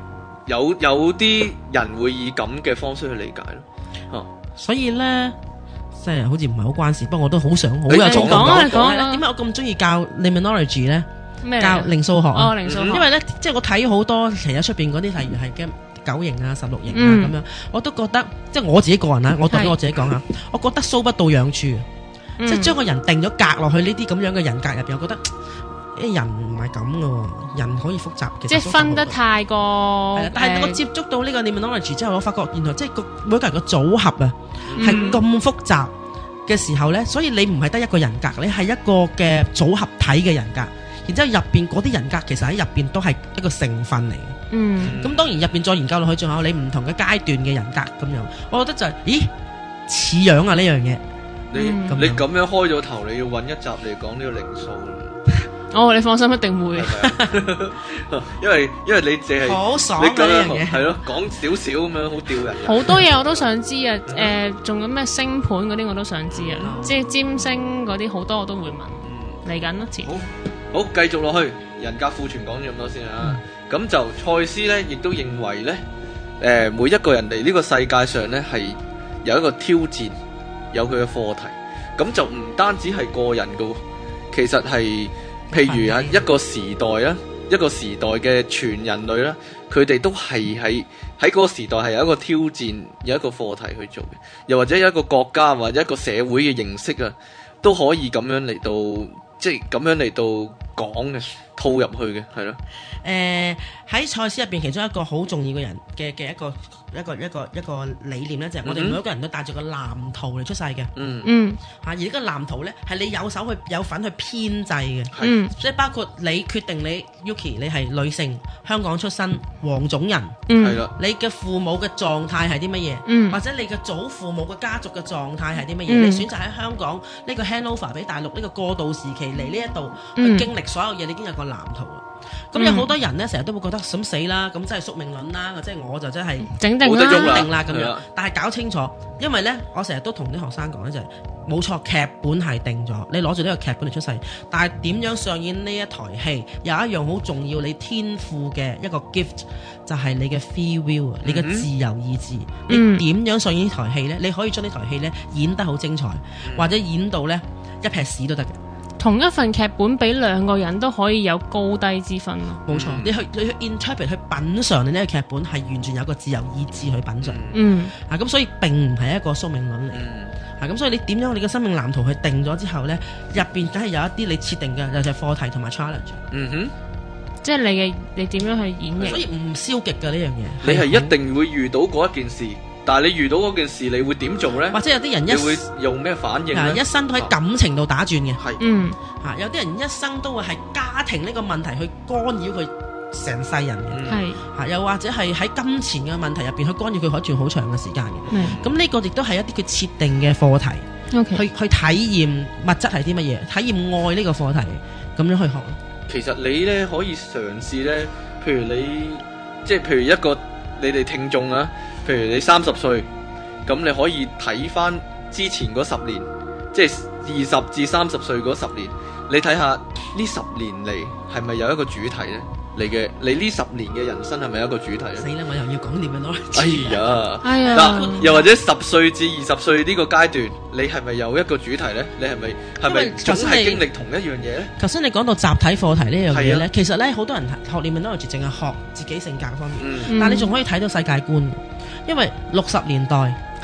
有啲人會以咁嘅方式去理解咯。 所以咧，即係好似唔係好關事，不過我都好想好有講講點解我咁中意教 Limnology 咧？ 咩教零數學啊？ 零數學， 因為咧，即係我睇好多其實出邊嗰啲，例如係嘅9型啊、16型啊咁樣，我都覺得即係我自己個人啊，我代表我自己講啊，我覺得搔不到癢處，即係將個人定咗格落去呢啲咁樣嘅人格入邊，我覺得人唔係咁噶，人可以複雜嘅， 即係分得太過。 係啦，但係我接觸到呢個 Limnology 之後，我發覺原來即係每個人嘅組合啊係咁複雜嘅時候咧，所以你唔係得一個人格，你係一個嘅組合體嘅人格。然之後入邊嗰啲人格其實喺入邊都係一個成分嚟嘅。咁當然入邊再研究落去，仲有你唔同嘅階段嘅人格咁樣。我覺得就係，咦似樣啊呢樣嘢。 你咁樣開咗頭，你要揾一集嚟講呢個靈數。 你放心，一定會。 因為你淨係好爽呢樣嘢， 係咯，講少少咁樣好吊人。 好多嘢我都想知啊！仲有咩星盤嗰啲我都想知啊！即係占星嗰啲好多我都會問。嚟緊咯， 好，繼續落去，人格庫存講咗咁多先啊。咁就賽斯咧，亦都認為咧，每一個人嚟呢個世界上咧，係有一個挑戰，有佢嘅課題。咁就唔單止係個人噶，其實係譬如啊一個時代啦，一個時代嘅全人類啦，佢哋都係喺嗰個時代係有一個挑戰，有一個課題去做嘅。又或者有一個國家或者一個社會嘅形式啊，都可以咁樣嚟到。即係咁樣嚟到講嘅，套入去嘅，係咯。 喺賽斯入邊，其中一個好重要嘅人嘅一個理念咧，就係我哋每一個人都帶住個藍圖嚟出世嘅。而呢個藍圖咧，係你有份去編製嘅。即係包括你決定你 Yuki 你係女性，香港出身，黃種人。係啦。你嘅父母嘅狀態係啲乜嘢？或者你嘅祖父母嘅家族嘅狀態係啲乜嘢？你選擇喺香港呢個 handover 俾大陸呢個過渡時期嚟呢一度去經歷所有嘢，你已經有個藍圖啦。咁有好多人咧，成日都會覺得咁死啦，咁真係宿命論啦，即係我就真係整定啦咁樣。但係搞清楚，因為咧，我成日都同啲學生講咧，就係冇錯，劇本係定咗，你攞住呢個劇本嚟出世。但係點樣上演呢一台戲，有一樣好重要，你天賦嘅一個 gift 就係你嘅 free will，你嘅自由意志。你點樣上演呢台戲咧？你可以將呢台戲咧演得好精彩，或者演到咧一撇屎都得嘅。 同一份劇本俾兩個人都可以有高低之分咯。冇錯， 你去 interpret 去品嚐你呢個劇本係完全有個自由意志去品嚐。咁所以並唔係一個宿命論嚟。咁所以你點樣你嘅生命藍圖去定咗之後咧，入邊梗係有一啲你設定嘅就係課題同埋 challenge。 即係你點樣去演繹？ 所以唔消極嘅呢樣嘢。 你係一定會遇到嗰一件事。但係你遇到嗰件事，你會點做咧？ 或者有啲人你會用咩反應咧？ 一生都喺感情度打轉嘅。 係， 有啲人一生都會係家庭呢個問題去干擾佢成世人嘅。又或者係喺金錢嘅問題入邊去干擾佢可以轉好長嘅時間嘅。咁呢個亦都係一啲佢設定嘅課題。去體驗物質係啲乜嘢，體驗愛呢個課題，咁樣去學。 其實你咧可以嘗試咧，譬如一個你哋聽眾啊。譬如你30歲，咁你可以睇翻之前嗰10年，即係20至30歲嗰10年，你睇下呢10年嚟係咪有一個主題咧？你呢10年嘅人生係咪有一個主題咧？ 死啦！我又要講點樣咯？ 哎呀，嗱，又或者10歲至20歲呢個階段，你係咪有一個主題咧？你係咪總係經歷同一樣嘢咧？ 頭先你講到集體課題呢樣嘢咧，其實咧好多人學 Limnology淨係學自己性格方面，但係你仲可以睇到世界觀。因為60年代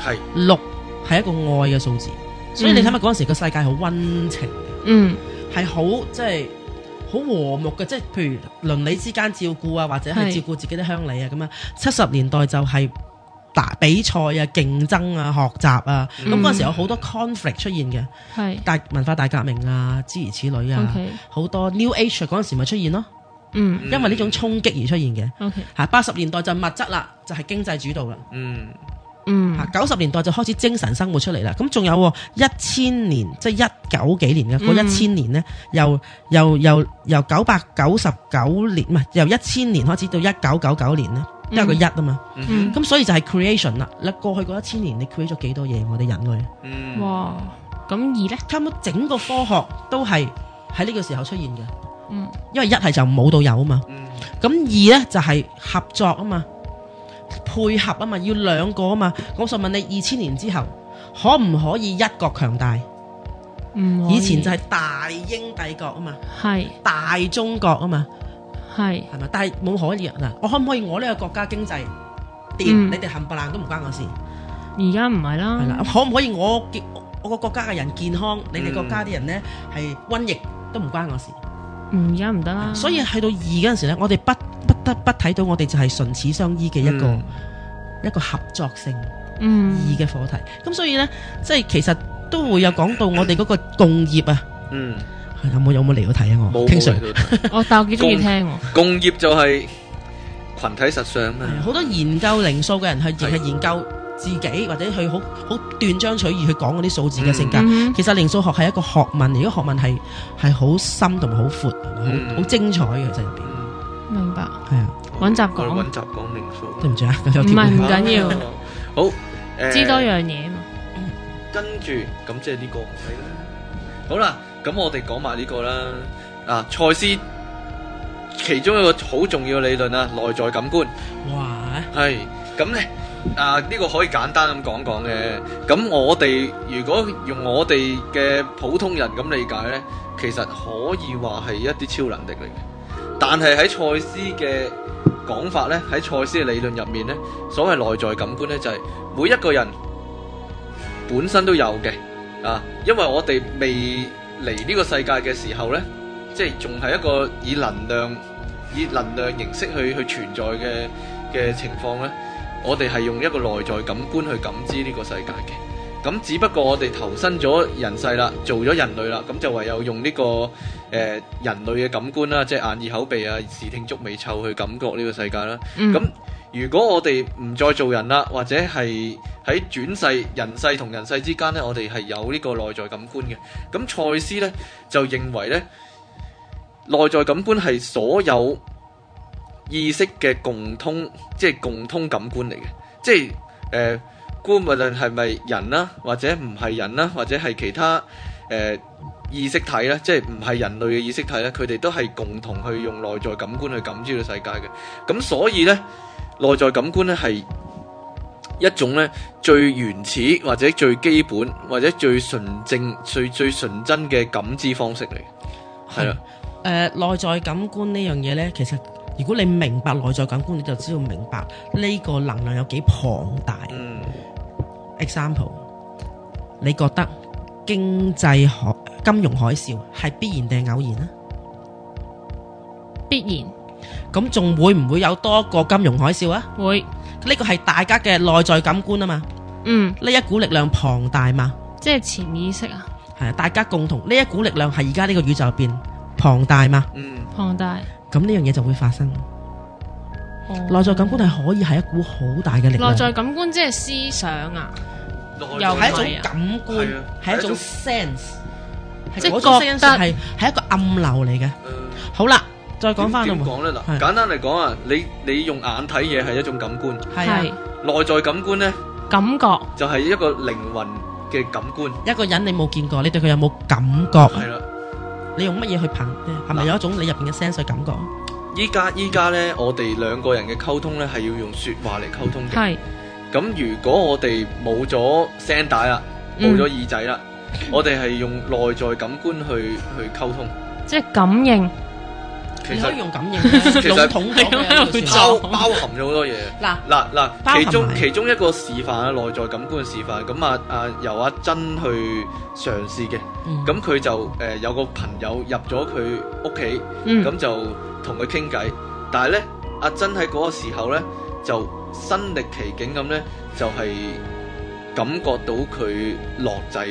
6係一個愛嘅數字，所以你睇下嗰陣時個世界好溫情嘅，係好即係好和睦嘅，即係譬如鄰里之間照顧啊，或者係照顧自己啲鄉里啊咁樣。70年代就係打比賽啊、競爭啊、學習啊，咁嗰陣時有好多 conflict 出現嘅，大文化大革命啊，諸如此類啊，好多 New Age 嗰陣時咪出現咯。因為呢種衝擊而出現嘅。80年代就物質啦，就係經濟主導啦。90年代就開始精神生活出嚟啦。咁仲有1000年，即係19幾年嘅嗰1000年咧，由999年，唔係由1000年開始到1999年咧，都有個1啊嘛。咁所以就係 creation 啦。你過去嗰1000年，你 create 咗幾多嘢？我哋人類。 哇！咁2咧， 差唔多整個科學都係喺呢個時候出現嘅。因為1係就冇到有啊嘛，咁2咧就係合作啊嘛， 配合啊嘛，要兩個啊嘛。我想問你2000年之後可唔可以一國強大？ 唔可以， 以前就係大英帝國啊嘛， 係大中國啊嘛， 係係咪？但係冇可以嗱，我可唔可以我呢個國家經濟掂， 嗯你哋冚唪唥都唔關我事， 而家唔係啦， 係啦？可唔可以我個國家嘅人健康，你哋國家啲人咧係瘟疫都唔關我事？ 而家唔得啦。 所以去到2嗰陣時咧，我哋不得不睇到我哋就係唇齒相依嘅一個合作性2嘅課題。咁所以咧，即係其實都會有講到我哋嗰個共業啊。有冇嚟到睇啊？我冇嚟到但我幾中意聽。 共業就係群體實相啊！ 好多研究靈數嘅人係亦係研究自己，或者去好斷章取義去講嗰啲數字嘅性格。其實靈數學係一個學問，而個學問係好深同埋好闊，好精彩嘅。其實入邊明白。 係啊， 揾集講。 揾集講靈數。 對唔住啊，唔係唔緊要。 好， 知多樣嘢嘛。 跟住咁即係呢個唔使啦。好啦，咁我哋講埋呢個啦。賽斯其中一個好重要嘅理論啊，內在感官。 哇！ 係咁咧，呢個可以簡單咁講講嘅。咁我哋如果用我哋嘅普通人咁理解咧，其實可以話係一啲超能力嚟嘅。但係喺賽斯嘅講法咧，喺賽斯嘅理論入面咧，所謂內在感官咧，就係每一個人本身都有嘅。因為我哋未嚟呢個世界嘅時候咧，即係仲係一個以能量形式去存在嘅情況咧，我哋係用一個內在感官去感知呢個世界嘅。咁只不過我哋投身咗人世啦，做咗人類啦，咁就唯有用呢個人類嘅感官啦，即係眼耳口鼻啊、視聽觸味嗅去感覺呢個世界啦。咁如果我哋唔再做人啦，或者係喺轉世人世同人世之間呢，我哋係有呢個內在感官嘅。咁賽斯呢，就認為呢，內在感官係所有意識嘅共通感官嚟嘅。即係無論係咪人啦，或者唔係人啦，或者係其他意識體啦，即係唔係人類嘅意識體咧，佢哋都係共同去用內在感官去感知到世界嘅。咁所以呢，內在感官咧係一種咧最原始或者最基本或者最純正、最純真嘅感知方式嚟。係啦， 內在感官呢樣嘢呢，其實如果你明白內在感官，你就知道明白呢個能量有幾龐大。Example， 你覺得金融海嘯係必然定係偶然啊？ 必然。 咁仲會唔會有多個金融海嘯啊？ 會。 呢個係大家嘅內在感官啊嘛。呢一股力量龐大嘛。 即係潛意識啊。 係啊，大家共同呢一股力量係而家呢個宇宙入邊龐大嘛。 龐大。 咁呢樣嘢就會發生。內在感官係可以係一股好大嘅力量。 內在感官即係思想啊， 又係一種感官，係一種 sense， 即係嗰種 sense 係一個暗流嚟嘅。好啦，再講翻點講咧？嗱，簡單嚟講啊，你用眼睇嘢係一種感官， 係內在感官咧， 感覺就係一個靈魂嘅感官。 一個人你冇見過，你對佢有冇感覺？ 係啦， 你用乜嘢去憑？係咪有一種你入邊嘅 sense 去感覺？ 依家咧，我哋兩個人嘅溝通咧係要用說話嚟溝通嘅。 係。 咁如果我哋冇咗聲帶啦，冇咗耳仔啦，我哋係用內在感官去溝通， 即係感應。 其實可以用感應，其實統咗包含咗好多嘢。嗱，其中一個示範啊，內在感官嘅示範。咁由阿珍去嘗試嘅。咁佢就有個朋友入咗佢屋企，咁就同佢傾偈。但係咧，阿珍喺嗰個時候咧就身歷其境咁咧，就係感覺到佢落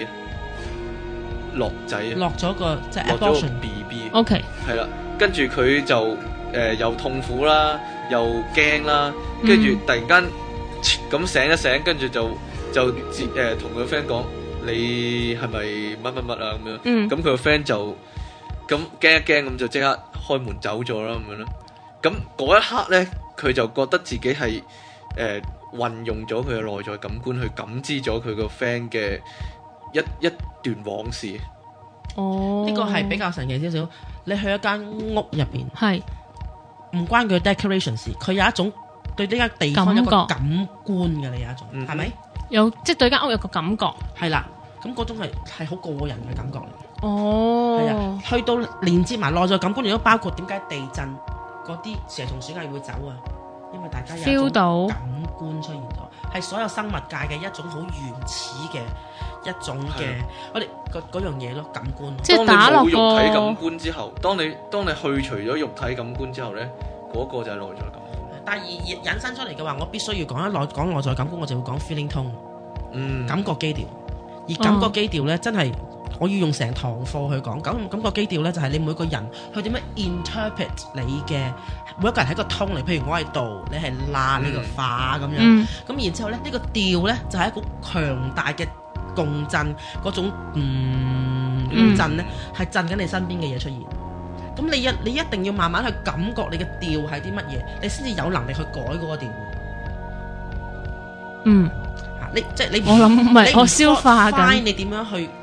咗個即係 abortion BB。OK， 係啦，跟住佢就又痛苦啦，又驚啦，跟住突然間咁醒一醒，跟住就同佢 friend 講：你係咪乜乜乜啊？咁樣。咁佢個 friend 就咁驚一驚，咁就即刻開門走咗啦，咁樣咯。咁嗰一刻咧，佢就覺得自己係運用咗佢嘅內在感官去感知咗佢個 friend 嘅一段往事。 呢個係比較神奇少少。你去一間屋入邊， 係唔關佢 decoration 事，佢有一種對呢間地方有個感官嘅，你有一種係咪？ 有即係對間屋有個感覺， 係啦，咁嗰種係好個人嘅感覺嚟。 哦， 係啊，去到連接埋內在感官，亦都包括點解地震嗰啲蛇蟲鼠蟻會走啊？因為大家有一種感官出現咗，係所有生物界嘅一種好原始嘅一種嘅，我哋嗰樣嘢咯，感官。 即係打落個肉體感官之後，當你去除咗肉體感官之後咧，嗰個就係內在感官。 但係引申出嚟嘅話，我必須要講內在感官，我就會講 feeling tone，感覺基調。而感覺基調咧，真係我要用成堂課去講。感覺基調咧，就係你每個人去點樣 interpret 你嘅每一個人喺個 tone 嚟。譬如我係度，你係拉，你個化咁樣。咁然之後咧，呢個調咧就係一個強大嘅共振，嗰種震咧係震緊你身邊嘅嘢出現。咁你一定要慢慢去感覺你嘅調係啲乜嘢，你先至有能力去改嗰個調。你我諗唔係我消化緊。 你點樣去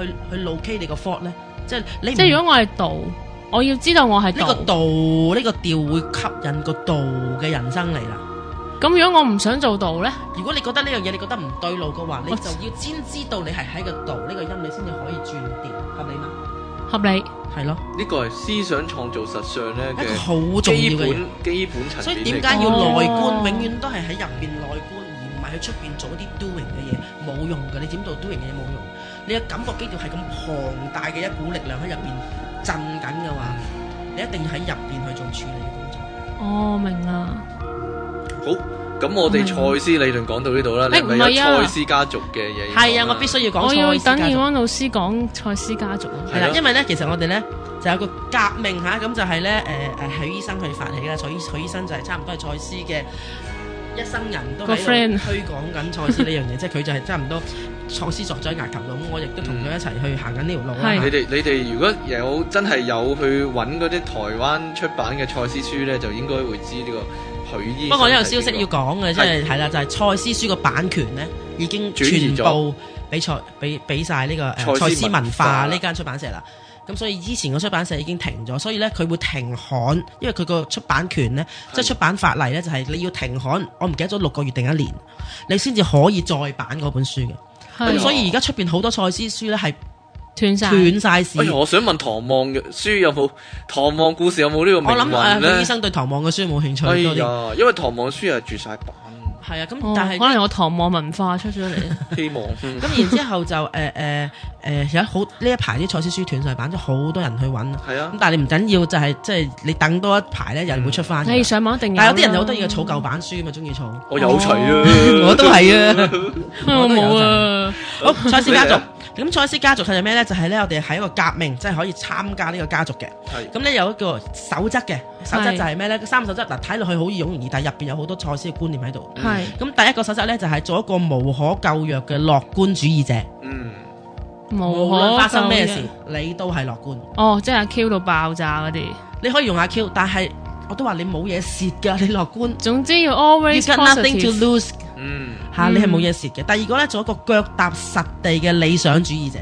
locate 你個 fault 咧？即係如果我係度，我要知道我係呢個度，呢個調會吸引個度嘅人生嚟啦。 咁如果我唔想做度咧？ 如果你覺得呢樣嘢你覺得唔對路嘅話，你就要先知道你係喺個度呢個音，你先至可以轉調，合理嗎？合理。係咯， 呢個係思想創造實相咧嘅一個好重要嘅基本層面。 所以點解要內觀？永遠都係喺入邊內觀，而唔係去出邊做一啲 doing 嘅嘢，冇用嘅。你點做 doing 嘅嘢冇用。你嘅感覺基調係咁龐大嘅一股力量喺入邊震緊嘅話，你一定要喺入邊去做處理嘅工作。 哦，明啦。 好，咁我哋賽斯理論講到呢度啦。你係咪有賽斯家族嘅嘢？ 係啊，我必須要講。 我要等葉安老師講賽斯家族。 係啦，因為咧，其實我哋咧就有個革命嚇，咁就係咧許醫生去發起嘅。許醫生就係差唔多係賽斯嘅一生人都喺度推廣緊賽斯呢樣嘢，即係佢就係差唔多創斯作咗喺牙球度。咁我亦都同佢一齊去行緊呢條路啦。 你哋如果真係有去揾嗰啲台灣出版嘅賽斯書咧，就應該會知呢個。不過我有消息要講嘅，即係啦，就係賽斯書個版權咧已經全部俾晒呢個賽斯文化呢間出版社啦。咁所以之前個出版社已經停咗，所以咧佢會停刊，因為佢個出版權咧，即係出版法例咧，就係你要停刊，我唔記得咗6個月定1年，你先至可以再版嗰本書嘅。咁所以而家出邊好多賽斯書咧係斷晒市。 我想問唐望嘅書有冇唐望故事有冇呢個命運咧？ 我諗醫生對唐望嘅書冇興趣。 因為唐望書係絕晒版。 係啊，咁但係可能有唐望文化出咗嚟。 希望。 咁然之後就有好呢一排啲賽斯書斷晒版，即係好多人去揾。 係啊。 咁但係你唔緊要，就係即係你等多一排咧，有人會出翻。 你上網一定有。 但係有啲人就好得意嘅儲舊版書嘛，中意儲。 我有齊啊， 我都係啊， 我冇啊。 好，賽斯家族。咁賽斯家族係咩咧？就係咧，我哋係一個革命，即係可以參加呢個家族嘅。咁咧有一個守則嘅，守則就係咩咧？3個守則嗱，睇落去好易容易，但係入邊有好多賽斯嘅觀念喺度。咁第一個守則咧就係做一個無可救藥嘅樂觀主義者。無論發生咩事，你都係樂觀。 哦，即係阿 Q 到爆炸嗰啲。 你可以用阿 Q， 但係我都話你冇嘢蝕㗎，你樂觀。 總之要 always positive。You got nothing to lose。你係冇嘢蝕嘅。第二個咧，做一個腳踏實地嘅理想主義者。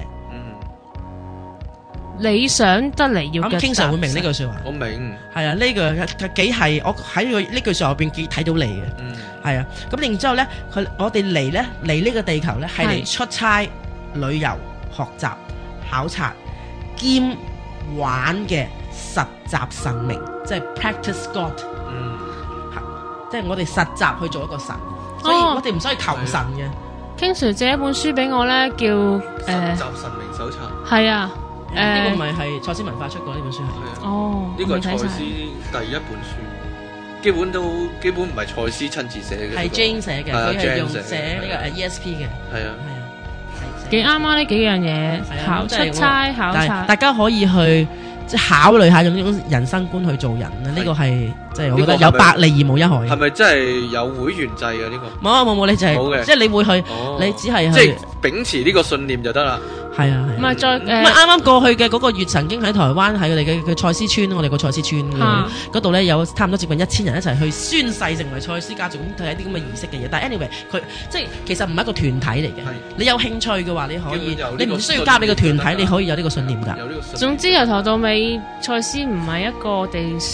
理想得嚟要。咁經常會明呢句說話。 我明。 係啊，呢個幾係我喺呢句說話入邊幾睇到你嘅。係啊，咁然之後咧，我哋嚟呢個地球咧，係嚟出差、旅遊、學習、考察兼玩嘅實習神明，即係 practice God。即係我哋實習去做一個神。所以我哋唔需要求神嘅。 King Sir 借一本書俾我咧，叫實習神明手冊。 係啊， 呢個唔係賽斯文化出過呢本書係。 哦， 呢個係賽斯第一本書，基本唔係賽斯親自寫嘅。 係 Jane 寫嘅，佢係用寫呢個ESP 嘅。 係啊， 幾啱啊！呢幾樣嘢，出差考察， 大家可以去即係考慮下用呢種人生觀去做人咧。呢個係。即係我覺得有百利而無一害。 係咪真係有會員制嘅呢個？ 冇，你就係即係你會去，你只係即係秉持呢個信念就得啦。 係啊， 唔係再啱啱過去嘅嗰個月，曾經喺台灣喺佢哋嘅賽斯村，我哋個賽斯村嗰度咧有差唔多接近1000人一齊去宣誓成為賽斯家族，咁睇一啲咁嘅儀式嘅嘢。但係 anyway， 佢即係其實唔係一個團體嚟嘅。你有興趣嘅話，你可以，你唔需要加你個團體，你可以有呢個信念㗎。 總之由頭到尾，賽斯唔係一個我哋崇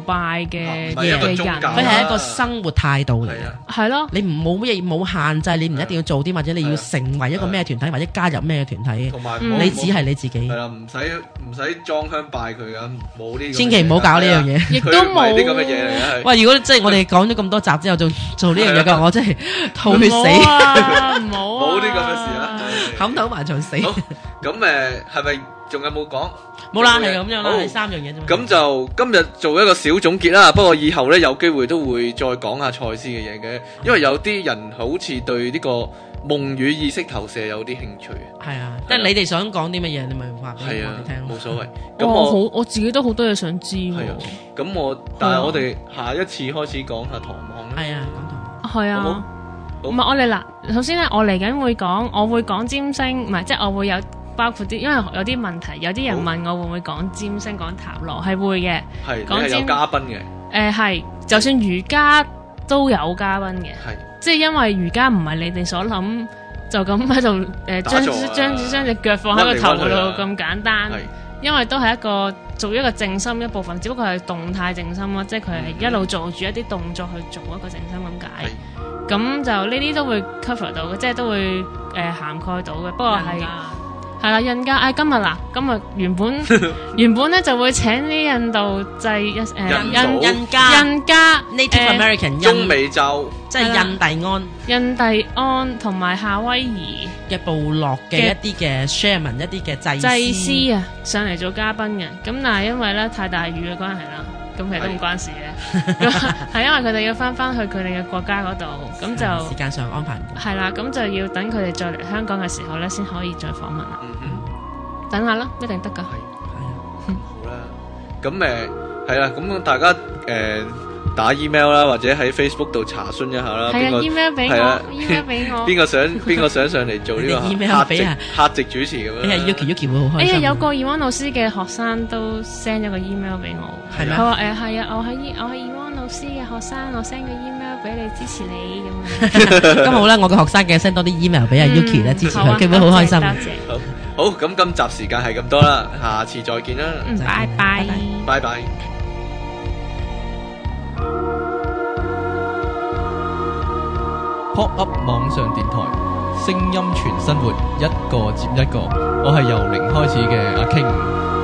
拜嘅唔係一個人， 宗教佢係一個生活態度嚟嘅。 係咯。 你唔冇乜嘢冇限制，你唔一定要做啲，或者你要成為一個咩團體，或者加入咩團體， 同埋你只係你自己。 係啦，唔使裝香拜佢噶，冇呢。 千祈唔好搞呢樣嘢， 亦都冇啲咁嘅嘢嚟嘅。 喂，如果即係我哋講咗咁多集之後，做呢樣嘢嘅，我真係吐血死， 冇啲咁嘅事啊， 冚頭埋牆死。 咁係咪仲有冇講？ 冇啦，係咁樣啦，係3樣嘢啫。 咁就今日做一個小總結啦。不過以後呢，有機會都會再講下賽斯嘅嘢嘅，因為有啲人好似對呢個夢與意識投射有啲興趣。 係啊，即係你哋想講啲乜嘢，你咪話俾我哋聽咯。 冇所謂。咁我自己都好多嘢想知。係啊。咁但係我哋下一次開始講下唐望啦。 係啊，講唐望。 係啊。唔係我哋嗱，首先咧，我嚟緊我會講占星，唔係即係我會有包括啲，因為有啲問題，有啲人問我會唔會講占星、講塔羅，係會嘅。 係講有嘉賓嘅。係， 就算瑜伽都有嘉賓嘅。係，即係因為瑜伽唔係你哋所諗就咁喺度將隻腳放喺個頭度咁簡單。因為都係做一個靜心一部分，只不過係動態靜心咯，即係佢係一路做住一啲動作去做一個靜心咁解。咁就呢啲都會 cover 到嘅，即係都會涵蓋到嘅。不過係啦，印加今日原本咧就會請啲印度印加 Native American 中美洲， 即係印第安同埋夏威夷嘅部落嘅一啲嘅 shaman 一啲嘅祭司啊上嚟做嘉賓嘅。咁但係因為咧太大雨嘅關係啦。咁其實都唔關事嘅，係因為佢哋要翻去佢哋嘅國家嗰度，咁就時間上安排唔到。 係啦，咁就要等佢哋再嚟香港嘅時候咧，先可以再訪問啦。等下啦，一定得噶。 係好啦，咁係啦，咁大家打 email 啦，或者喺 Facebook 度查詢一下啦。 係啊 ，email 俾我，email 俾我。 邊個想上嚟做呢個客席主持咁樣？ 你係 Yuki 會好開心。 哎呀，有個 Ewan 老師嘅學生都 send 咗個 email 俾我。 係咩？ 佢話係啊，我係 Ewan 老師嘅學生，我 send 個 email 俾你支持你咁樣。 咁好啦，我嘅學生嘅 send 多啲 email 俾阿 Yuki 咧支持佢，佢會好開心。 多謝。 好，咁今集時間係咁多啦，下次再見啦。 拜拜。 拜拜。 Pop Up 網上電台，聲音全生活，一個接一個。我係由零開始嘅阿 King。